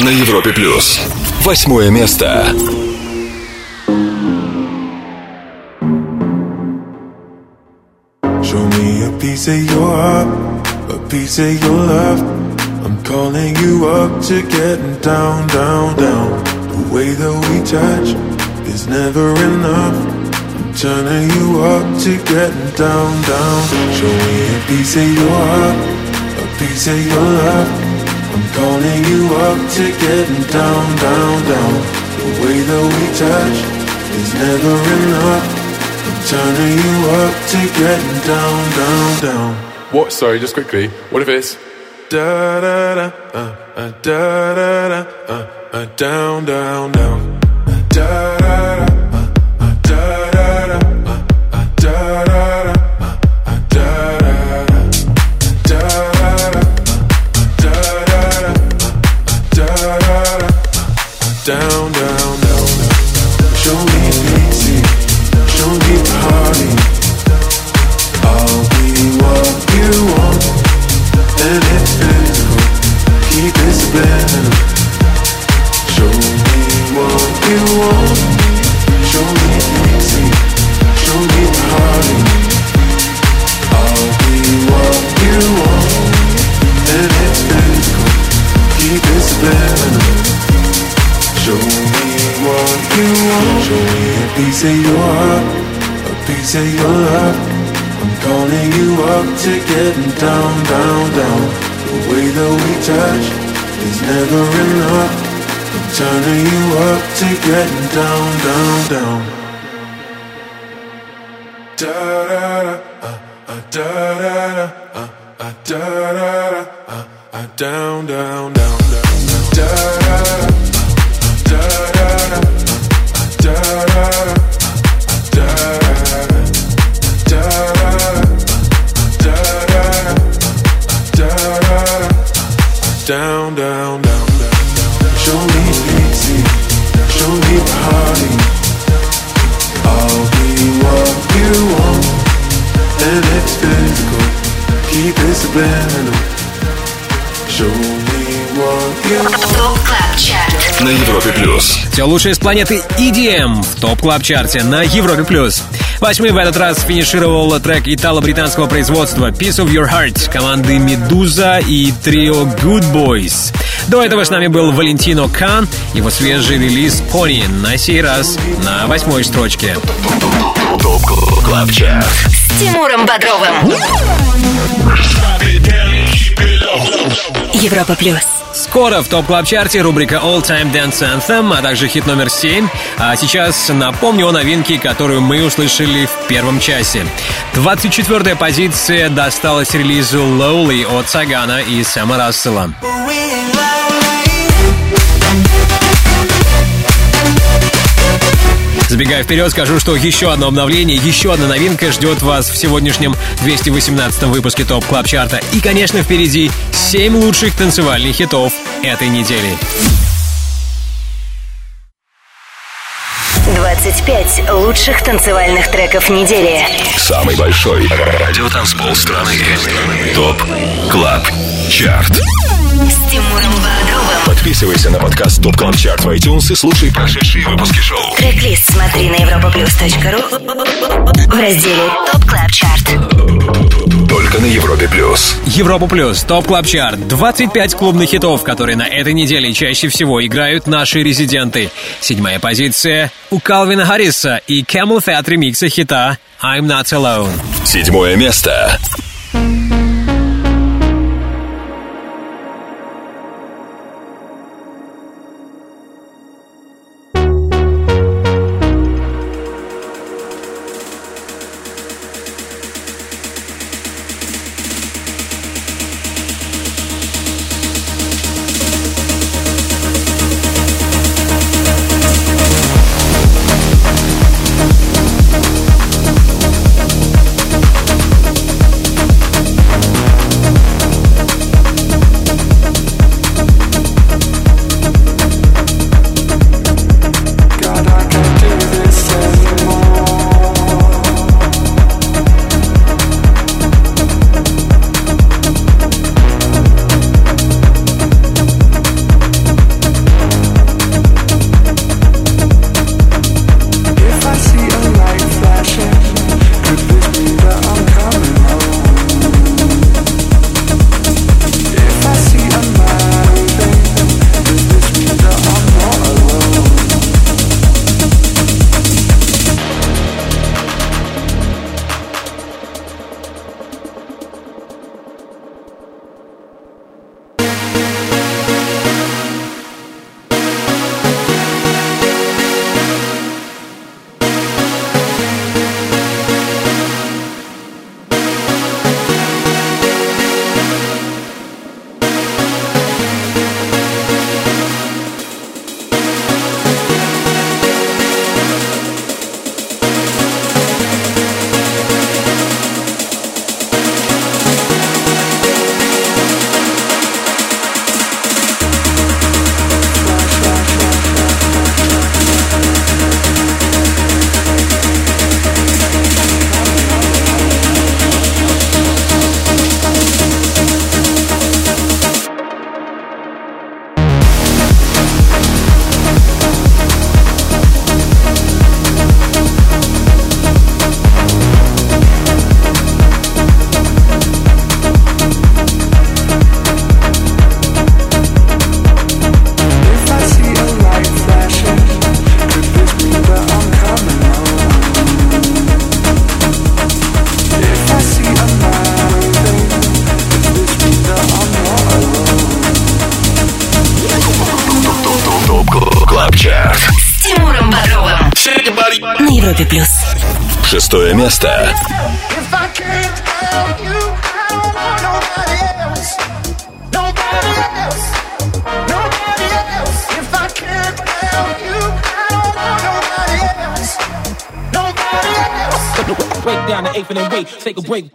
на Европе плюс. Восьмое место. Show me a piece of your heart, a piece of your love. I'm calling you up to getting down, down, down. The way that we touch is never enough. I'm turning you up to getting down, down. Show me a piece of your heart, a piece of your love. I'm calling you up to getting down, down, down. The way that we touch is never enough. I'm turning you up to getting down, down, down. What? Sorry, just quickly. What if it's da da da uh, uh, da da da uh, uh, down, down, down. Da da da uh, uh, da da da uh, uh, da da da uh, uh, da da da da da da da da da down, down, down. Show me pity, show me party. I'll be what you want, and it's physical. Keep it subliminal. Show me what you want. Show me pity, show me party. I'll be what you want, and it's physical. Keep it subliminal. Show me what you want. Show me a piece of your heart, a piece of your love. I'm calling you up to getting down, down, down. The way that we touch is never enough. I'm turning you up to getting down, down, down. Da da da, uh, uh, da da da, uh, uh, da da da, uh, uh, down, down, down, down, da da da. Da da da, da da da, da da da, da da da, da da da, down, down, down. Show me pity, show me party. I'll be what you want, and it's physical. Keep it subliminal. Show me what you want. На Европе плюс. Все лучшее с планеты и ди эм в топ клаб чарте на Европе плюс. Восьмым в этот раз финишировал трек итало-британского производства Piece of Your Heart команды Медуза и трио Good Boys. До этого с нами был Валентино Кан, его свежий релиз Pony, на сей раз на восьмой строчке. Топ клаб чарт С Тимуром Бодровым. Европа плюс. Скоро в топ клаб чарте рубрика All Time Dance Anthem, а также хит номер семь. А сейчас напомню о новинке, которую мы услышали в первом часе. двадцать четвёртая позиция досталась релизу Lowly от Сагана и Сэма Рассела. Забегая вперед, скажу, что еще одно обновление, еще одна новинка ждет вас в сегодняшнем двести восемнадцатом выпуске ТОП Клаб Чарта. И, конечно, впереди семь лучших танцевальных хитов этой недели. двадцать пять лучших танцевальных треков недели. Самый большой радиотанцпол страны. ТОП Клаб Чарт. С Тимуром Бодровым. Подписывайся на подкаст ТОП Клаб Чарт в iTunes и слушай прошедшие выпуски шоу. Трек-лист смотри на европаплюс точка ру в разделе ТОП Клаб Чарт. Только на Европе плюс. Европа плюс, ТОП Клаб Чарт. двадцать пять клубных хитов, которые на этой неделе чаще всего играют наши резиденты. Седьмая позиция у Калвина Харриса и Camel Fat ремикса хита I'm Not Alone. Седьмое место. Тимуром Бодровым на Европе плюс. Шестое место. Break down the eighth and then wait, take a break.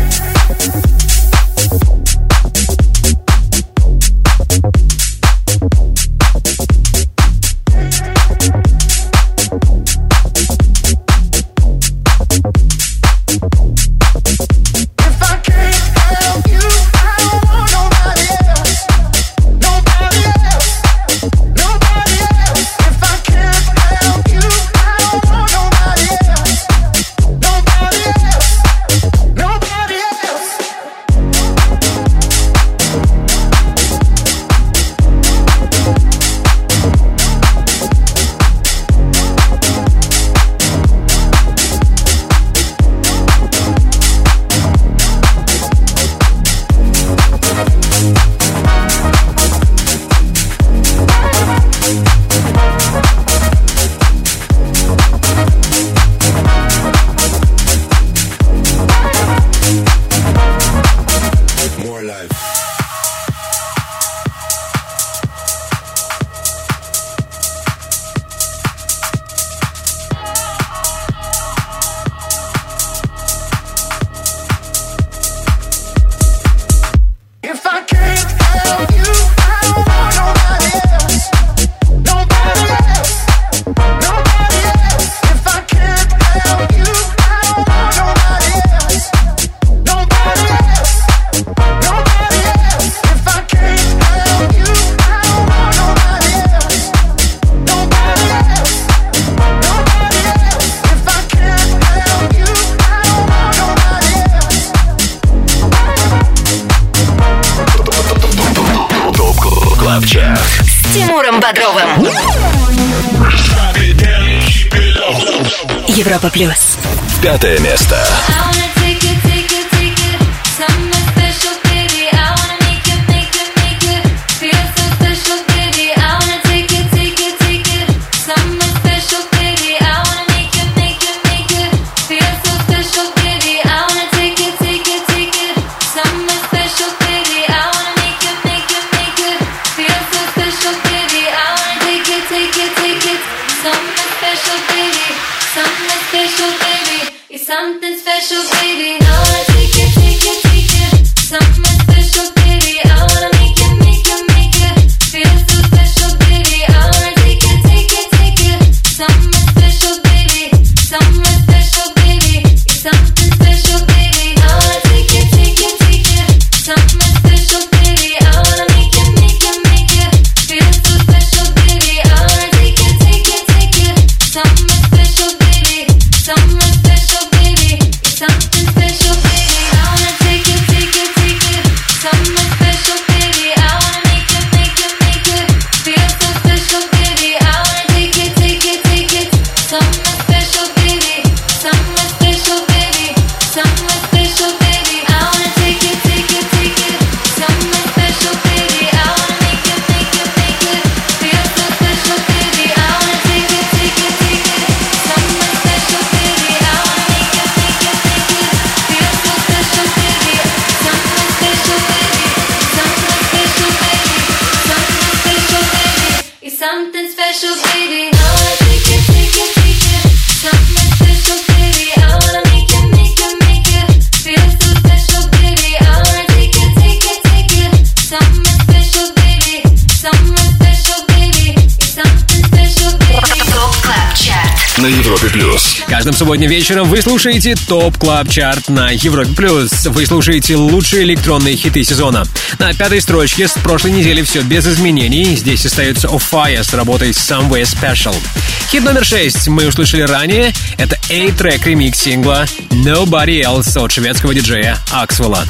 С Тимуром Бодровым. Европа плюс. Пятое место. Something special, baby. I wanna take it, take it, take it. Something special, baby. I wanna make it, make it, make it. Feel so special, baby. I wanna take it, take it, take it. Something special, baby. Something special, baby. It's something special, baby. I wanna take it, take it, take it. Something special, baby. I wanna make it, make it, make it. Feel so special, baby. I wanna take it, take it, take it. Something special, baby. Something special, baby. It's something special, baby. I wanna take it, take it, take it. Something special, baby. I wanna make it, make it, make it. Feel so special, baby. I wanna take it, take it, take it. Something special, baby. Something special, baby. Something special, baby. I wanna take it, take it, take it. Something special, baby. I wanna make it, make it, make it. Feel so special, baby. I wanna take it, take it, take it. Something special, baby. I wanna make it, make it, make it. Feel so special, baby. Something special, baby. Something special, baby. Something special, baby. It's something special, baby. I wanna take it, take it, take it. Something special, baby. I wanna make it, make it, make it. Feel so special, baby. I wanna take it, take it, take it. Something special, baby. Something special, baby. It's something special, baby. Топ Клаб Чарт На Европе плюс. Каждым субботним вечером вы слушаете ТОП Клаб Чарт на Европе плюс. Вы слушаете лучшие электронные хиты сезона. На пятой строчке с прошлой недели все без изменений. Здесь остается Of Fire с работой Somewhere Special. Хит номер шесть мы услышали ранее. Это A-трек ремикс сингла Nobody Else от шведского диджея Аксвелла.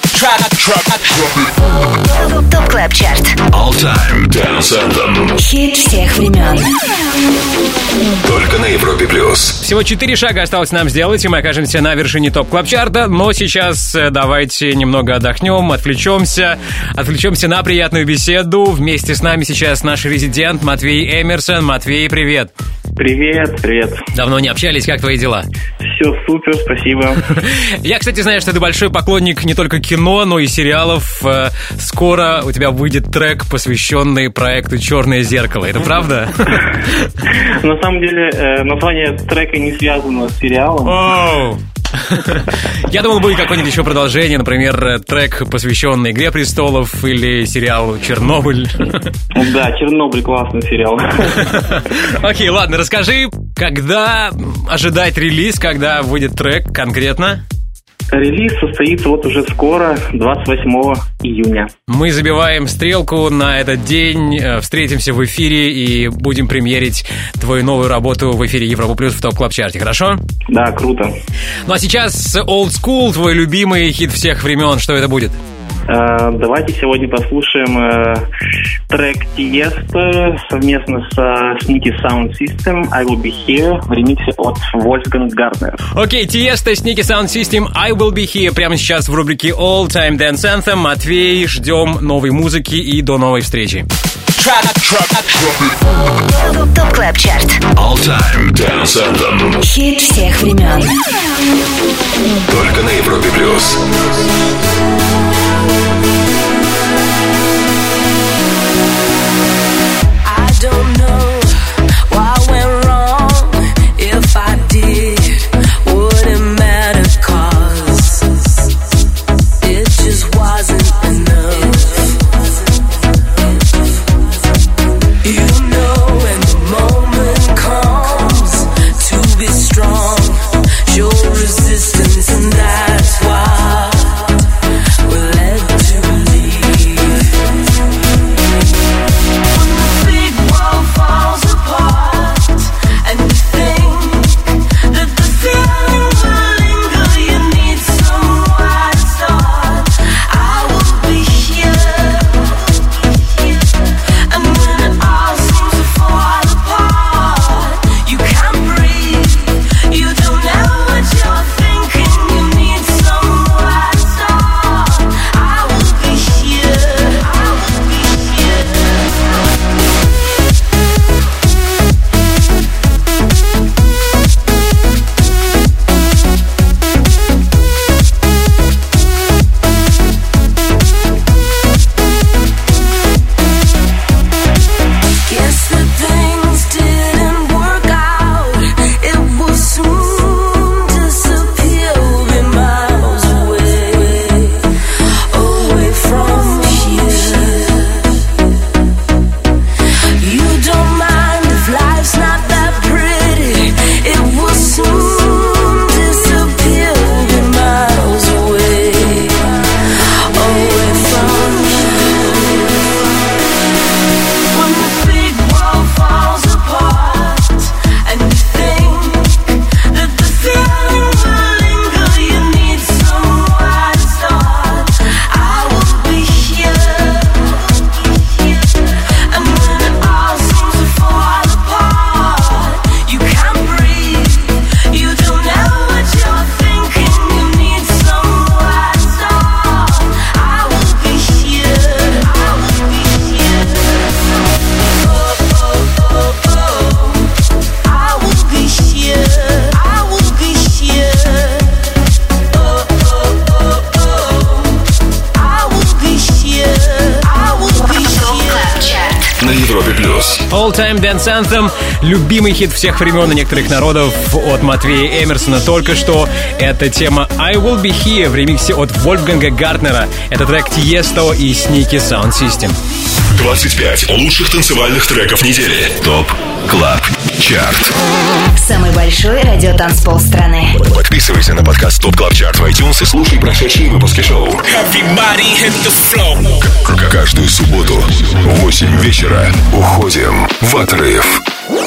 Топ Клаб Чарт. All Time Dance Anthem. Хит всех времен. Только на Европе плюс. Всего четыре шага осталось нам сделать, и мы окажемся на вершине ТОП Клаб Чарта. Но сейчас давайте немного отдохнем, отвлечемся. Отвлечемся на приятную беседу. Вместе с нами сейчас наш резидент Матвей Эмерсон. Матвей, привет. Привет, привет. Давно не общались, как твои дела? Все супер, спасибо. Я, кстати, знаю, что ты большой поклонник не только кино, но и сериалов. Скоро у тебя выйдет трек, посвященный проекту «Черное зеркало». Это правда? На самом деле, название трека не связано с сериалом. Я думал, будет какое-нибудь еще продолжение, например, трек, посвященный «Игре престолов» или сериалу «Чернобыль». Да, «Чернобыль» классный сериал. Окей, ладно, расскажи, когда ожидать релиз, когда выйдет трек конкретно? Релиз состоится вот уже скоро, двадцать восьмого июня. Мы забиваем стрелку на этот день, встретимся в эфире и будем премьерить твою новую работу в эфире Европа Плюс в ТОП Клаб Чарте, хорошо? Да, круто. Ну а сейчас Old School, твой любимый хит всех времен, что это будет? Давайте сегодня послушаем э, трек Tiesto совместно со Sneaky Sound System I Will Be Here в ремиксе от Wolfgang Gartner. Окей, okay, Tiesto, Sneaky Sound System I Will Be Here прямо сейчас в рубрике All Time Dance Anthem. Матвей, ждем новой музыки и до новой встречи. ТОП Клаб Чарт. All Time Dance Anthem. Хит всех времен. Только на Европе Плюс. I don't know what went wrong. If I did, wouldn't matter, 'cause it just wasn't enough. You know when the moment comes to be strong, show resistance, and that's why we're led to leave. When the big world falls apart and you think that the feeling will linger, you need somewhere to start. I will be here. And when it all seems to fall apart, you can't breathe, you don't know what you're thinking, you need somewhere to start. I will be here, I will be here. Guess that things didn't work out. It will soon disappear. We'll be miles away, away from here. You don't mind if life's not that pretty. It will soon disappear. We'll be miles away, away from here. When the big world falls apart and you think that the feeling will linger, you need somewhere to start. I will be here. And when it all seems to fall apart, you can't breathe, you don't know what you're thinking, you need somewhere to start. I will be here, I will be here. Oh, oh, oh, oh. I will be here, I will be here. Oh, oh, oh, oh. I will be here, I will be here. На Европе Плюс. All Time Dance Anthem, любимый хит всех времен и некоторых народов от Матвея Эмерсона. Только что это тема I Will Be Here в ремиксе от Вольфганга Гартнера. Это трек Tiesto и Sneaky Sound System. двадцать пять лучших танцевальных треков недели. ТОП Клаб Чарт. Самый большой радиотанцпол страны. Подписывайся на подкаст ТОП Клаб Чарт в iTunes и слушай прошедшие выпуски шоу. К- Каждую субботу в восемь вечера уходим в отрыв.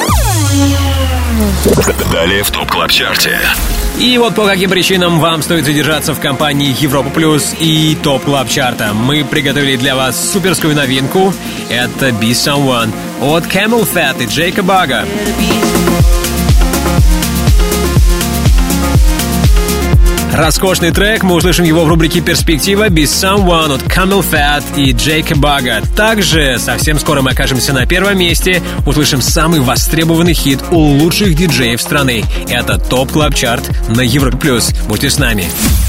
Далее в ТОП Клаб Чарте. И вот по каким причинам вам стоит задержаться в компании Европа Плюс и ТОП Клаб Чарта. Мы приготовили для вас суперскую новинку. Это Be Someone от Camel Fat и Джейка Бага. Роскошный трек, мы услышим его в рубрике «Перспектива» «Be Someone» от Camel Fat и Джейка Бага. Также совсем скоро мы окажемся на первом месте, услышим самый востребованный хит у лучших диджеев страны. Это ТОП Клаб Чарт на Европе Плюс. Будьте с нами.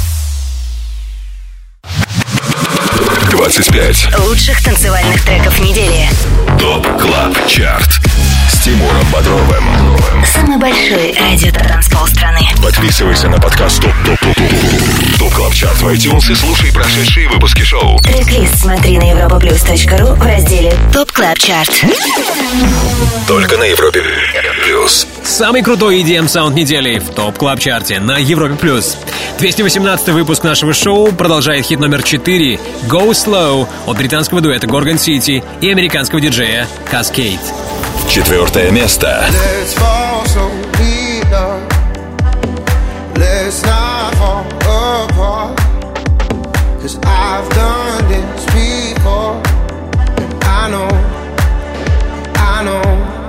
двадцать пять лучших танцевальных треков недели. ТОП Клаб Чарт с Тимуром Бодровым. Самый большой радио-транспол страны. Подписывайся на подкаст ТОП ТОП ТОП ТОП ТОП Клаб Чарт в iTunes и слушай прошедшие выпуски шоу. Трек-лист смотри на европаплюс точка ру в разделе ТОП Клаб Чарт. Только на Европе Плюс. Самый крутой и ди эм-саунд недели в ТОП Клаб Чарте на Европе Плюс. двести восемнадцатый выпуск нашего шоу продолжает хит номер четыре «Go Slow» от британского дуэта Gorgon City и американского диджея Cascade. Четвертое место. Let's fall so deep, love. Let's not fall apart. 'Cause I've done this before. And I know, I know.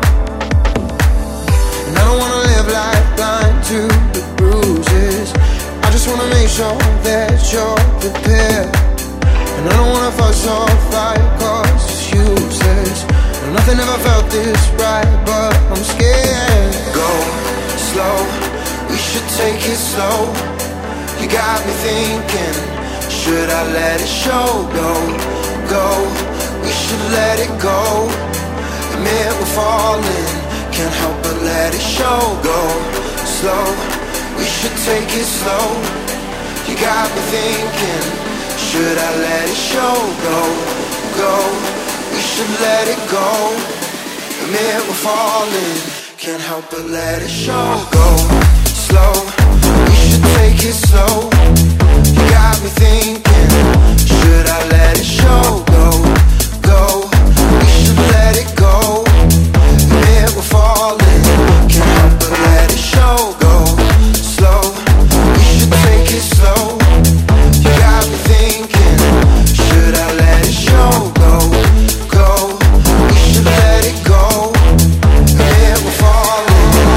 And I don't wanna live life blind to the bruises. I just wanna make sure that you're prepared. And I don't wanna fuss or fight 'cause it's useless. Nothing ever felt this right, but I'm scared. Go slow, we should take it slow. You got me thinking, should I let it show? Go, go, we should let it go. Admit we're falling, can't help but let it show. Go slow, we should take it slow. You got me thinking, should I let it show? Go, go, we should let it go. Admit we're falling, can't help but let it show. Go slow, we should take it slow. You got me thinking, should I let it show? Go, go, we should let it go. Admit we're falling, can't help but let it show. Go slow, we should take it slow. You got me thinking, should I let it show? Go, go, we should let it go. Admit we're falling.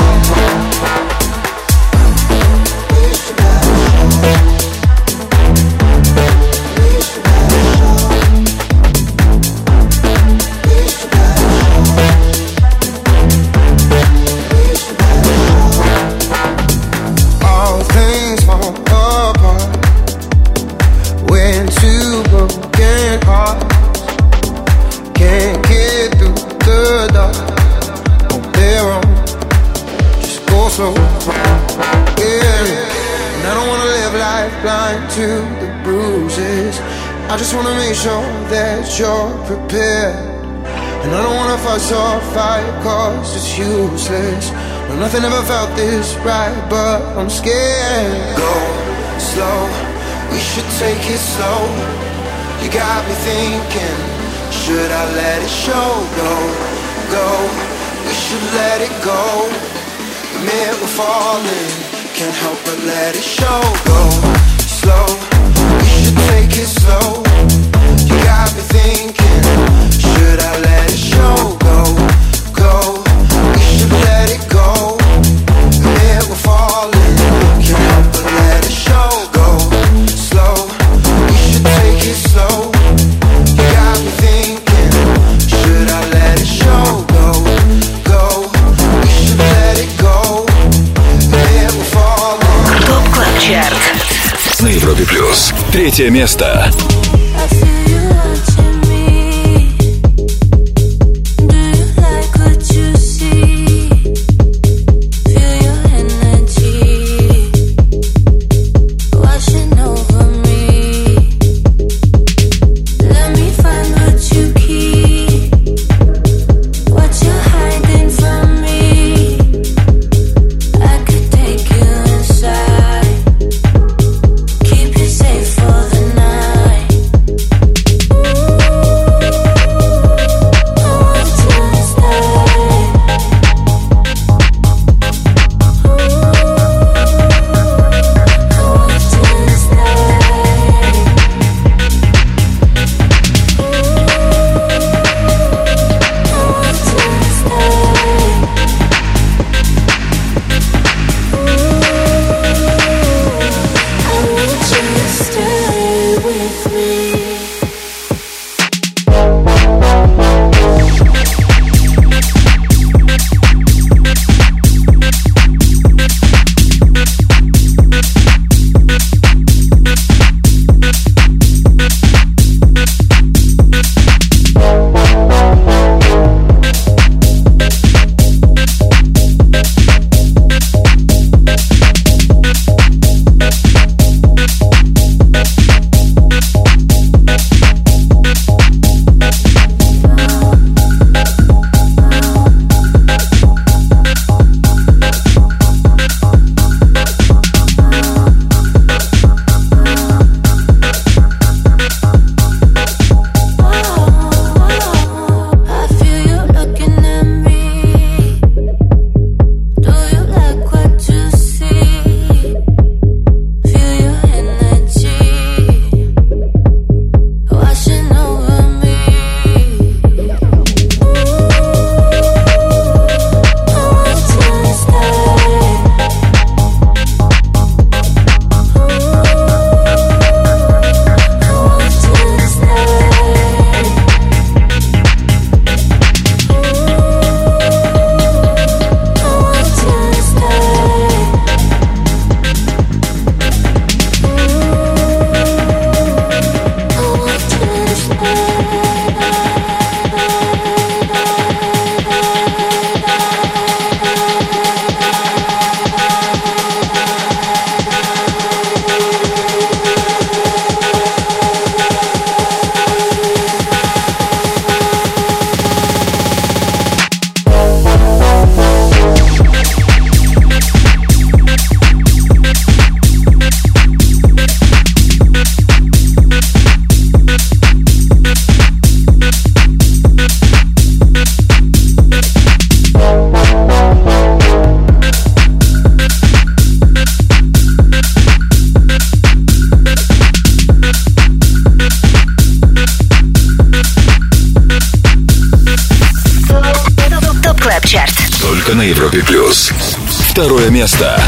We should let it show. We should let it show. We should let it show. We should let it show. All things fall apart when two broken hearts can't get through the dark on their own. Just go slow, yeah. And I don't wanna live life blind to the bruises. I just wanna make sure that you're prepared. And I don't wanna fuss or fight 'cause it's useless. No, nothing ever felt this right, but I'm scared. Go slow, we should take it slow. You got me thinking, should I let it show? Go, go, we should let it go. Admit we're falling, can't help but let it show. Go slow, we should take it slow. You got me thinking, should I let it show? Go, go, we should let it go. Admit we're falling, can't help but let it show. Go slow, we should take it slow. You got me thinking, should I let it show? Go, go, we should let it go. Admit we're falling. ТОП Клаб Чарт На Европе Плюс. Третье место. Keep you safe for the night. Европе плюс. Второе место.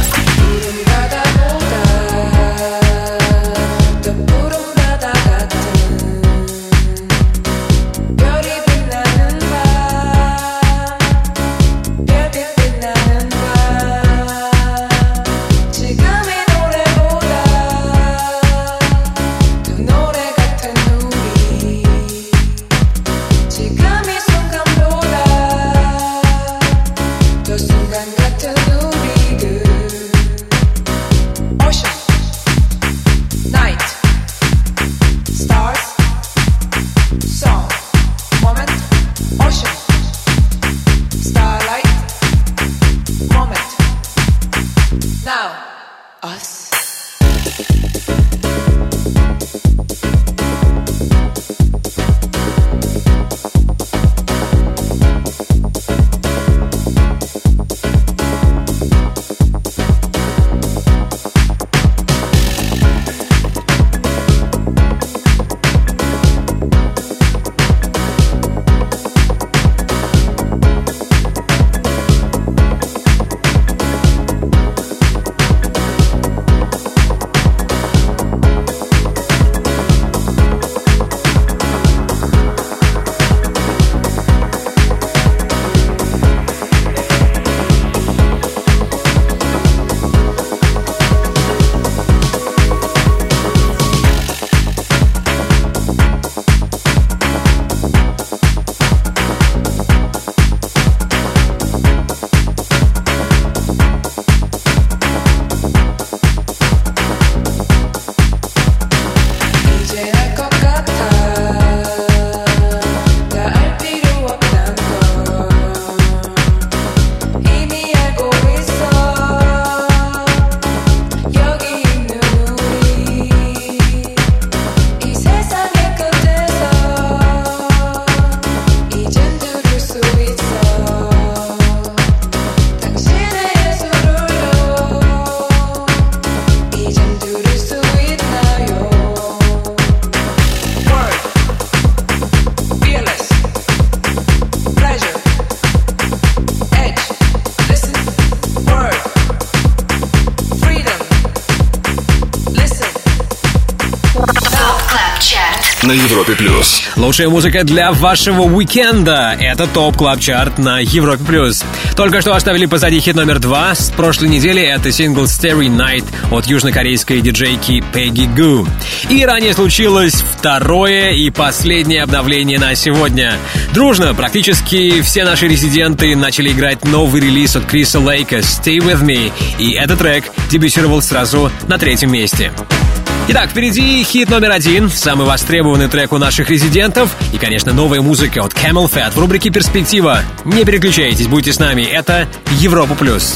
На Европе плюс. Лучшая музыка для вашего уикенда. Это ТОП Клаб Чарт на Европе плюс. Только что оставили позади хит номер два. С прошлой недели это сингл Starry Night от южнокорейской диджейки Peggy Goo. И ранее случилось второе и последнее обновление на сегодня. Дружно практически все наши резиденты начали играть новый релиз от Криса Лейка Stay With Me. И этот трек дебютировал сразу на третьем месте. Итак, впереди хит номер один, самый востребованный трек у наших резидентов и, конечно, новая музыка от Camel Fat в рубрике «Перспектива». Не переключайтесь, будьте с нами. Это Европа плюс.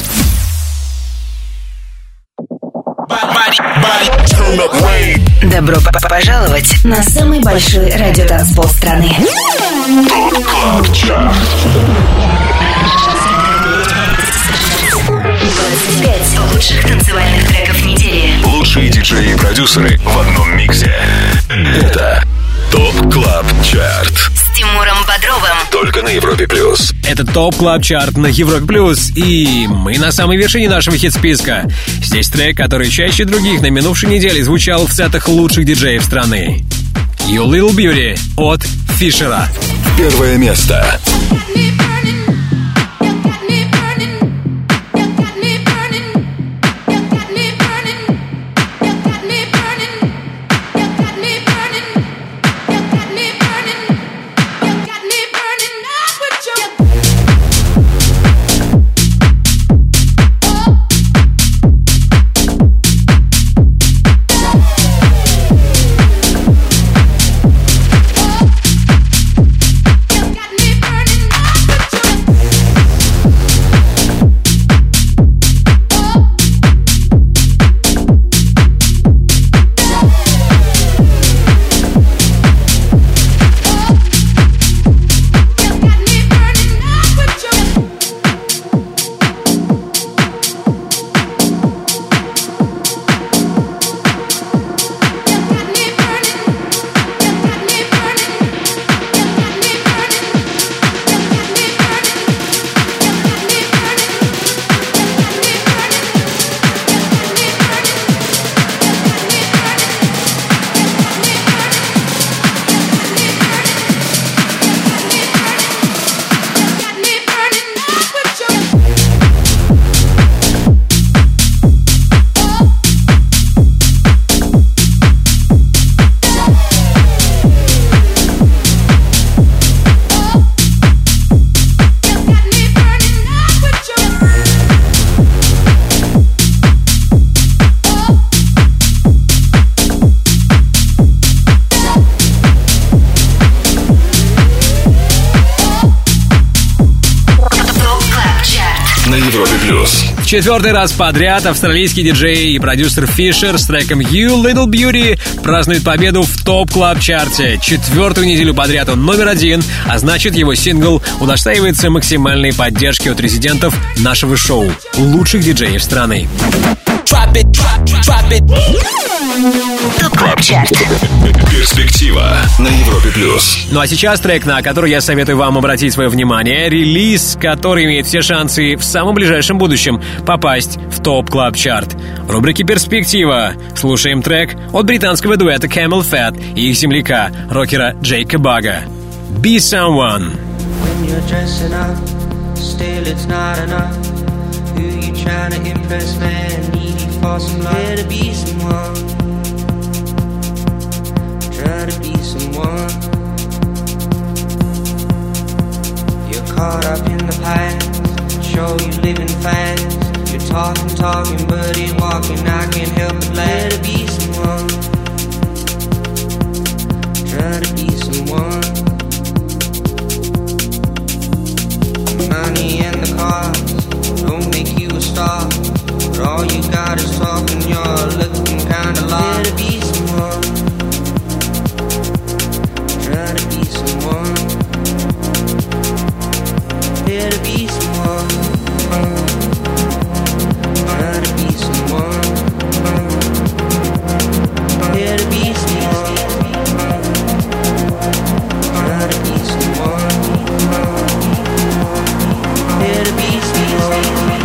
Добро пожаловать на самый большой радиотанцпол страны. двадцать пять лучших танцевальных треков недели. Лучшие диджеи и продюсеры в одном миксе. Это ТОП Клаб Чарт С Тимуром Бодровым. Только на Европе плюс. Это ТОП Клаб Чарт на Европе плюс. И мы на самой вершине нашего хит-списка. Здесь трек, который чаще других на минувшей неделе звучал в сетах лучших диджеев страны. You Little Beauty от Фишера. Первое место. на Европе плюс. В четвертый раз подряд австралийский диджей и продюсер Фишер с треком You Little Beauty празднует победу в ТОП Клаб Чарте. Четвертую неделю подряд он номер один, а значит, его сингл удостаивается максимальной поддержки от резидентов нашего шоу, лучших диджеев страны. Drop it, drop, drop it. ТОП Клаб Чарт. Перспектива на Европе плюс. Ну а сейчас трек, на который я советую вам обратить свое внимание. Релиз, который имеет все шансы в самом ближайшем будущем попасть в ТОП Клаб Чарт. В рубрике «Перспектива» слушаем трек от британского дуэта Camel Fat и их земляка, рокера Джейка Бага. Be Someone. When you're dressing up, still it's not enough. Who you trying to impress, man? Needy for some love. Try to be someone. Try to be someone. You're caught up in the past. Show you living fast. You're talking, talking, but ain't walking. I can't help but laugh. Try to be someone. Try to be someone. Money and the cars don't make you a star, but all you got is talk and you're looking kinda lost. Try to be someone. Try to be someone. Try to be someone. Try to be someone. Try to be someone. Try to be someone. Try to be someone.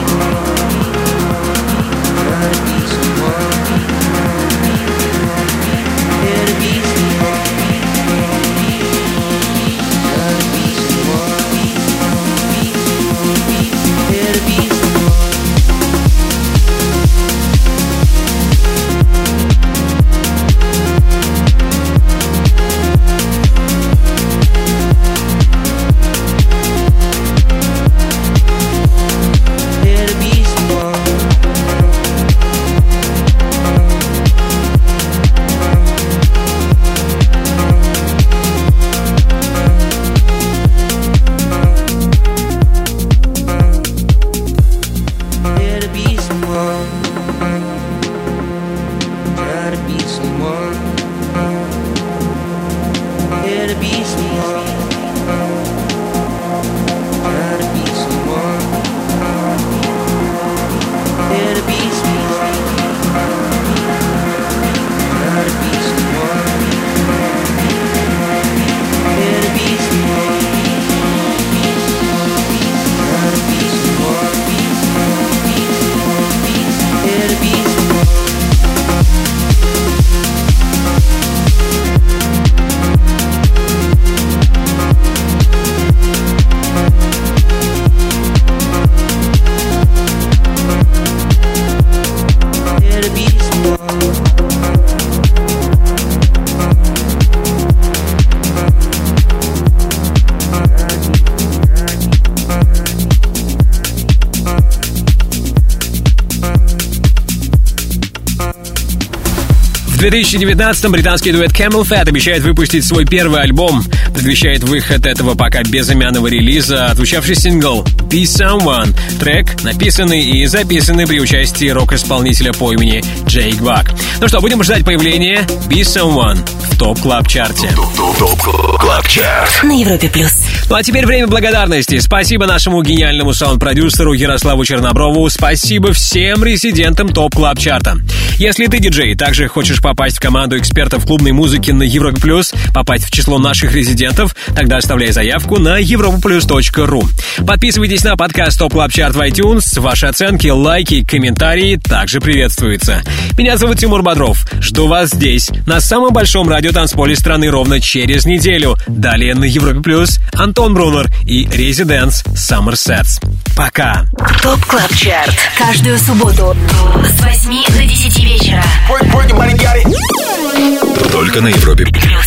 В две тысячи девятнадцатом британский дуэт Camel Fat обещает выпустить свой первый альбом. Предвещает выход этого пока безымянного релиза отзвучавший сингл Be Someone. Трек написанный и записанный при участии рок-исполнителя по имени Джейк Баг. Ну что, будем ждать появления Be Someone в ТОП Клаб Чарте. ТОП Клаб Чарт На Европе плюс. Ну а теперь время благодарности. Спасибо нашему гениальному саунд-продюсеру Ярославу Черноброву. Спасибо всем резидентам ТОП Клаб Чарта. Если ты диджей, также хочешь попасть в команду экспертов клубной музыки на Европе плюс, попасть в число наших резидентов, тогда оставляй заявку на европа плюс точка ру. Подписывайтесь на подкаст ТОП Клаб Чарт в iTunes. Ваши оценки, лайки, комментарии также приветствуются. Меня зовут Тимур Бодров. Жду вас здесь, на самом большом радиотанцполе страны, ровно через неделю. Далее на Европе плюс Антон Брунер и Residents Summer Sets. Пока. ТОП Клаб Чарт. Каждую субботу с восьми до десяти вечера. Только на Европе плюс.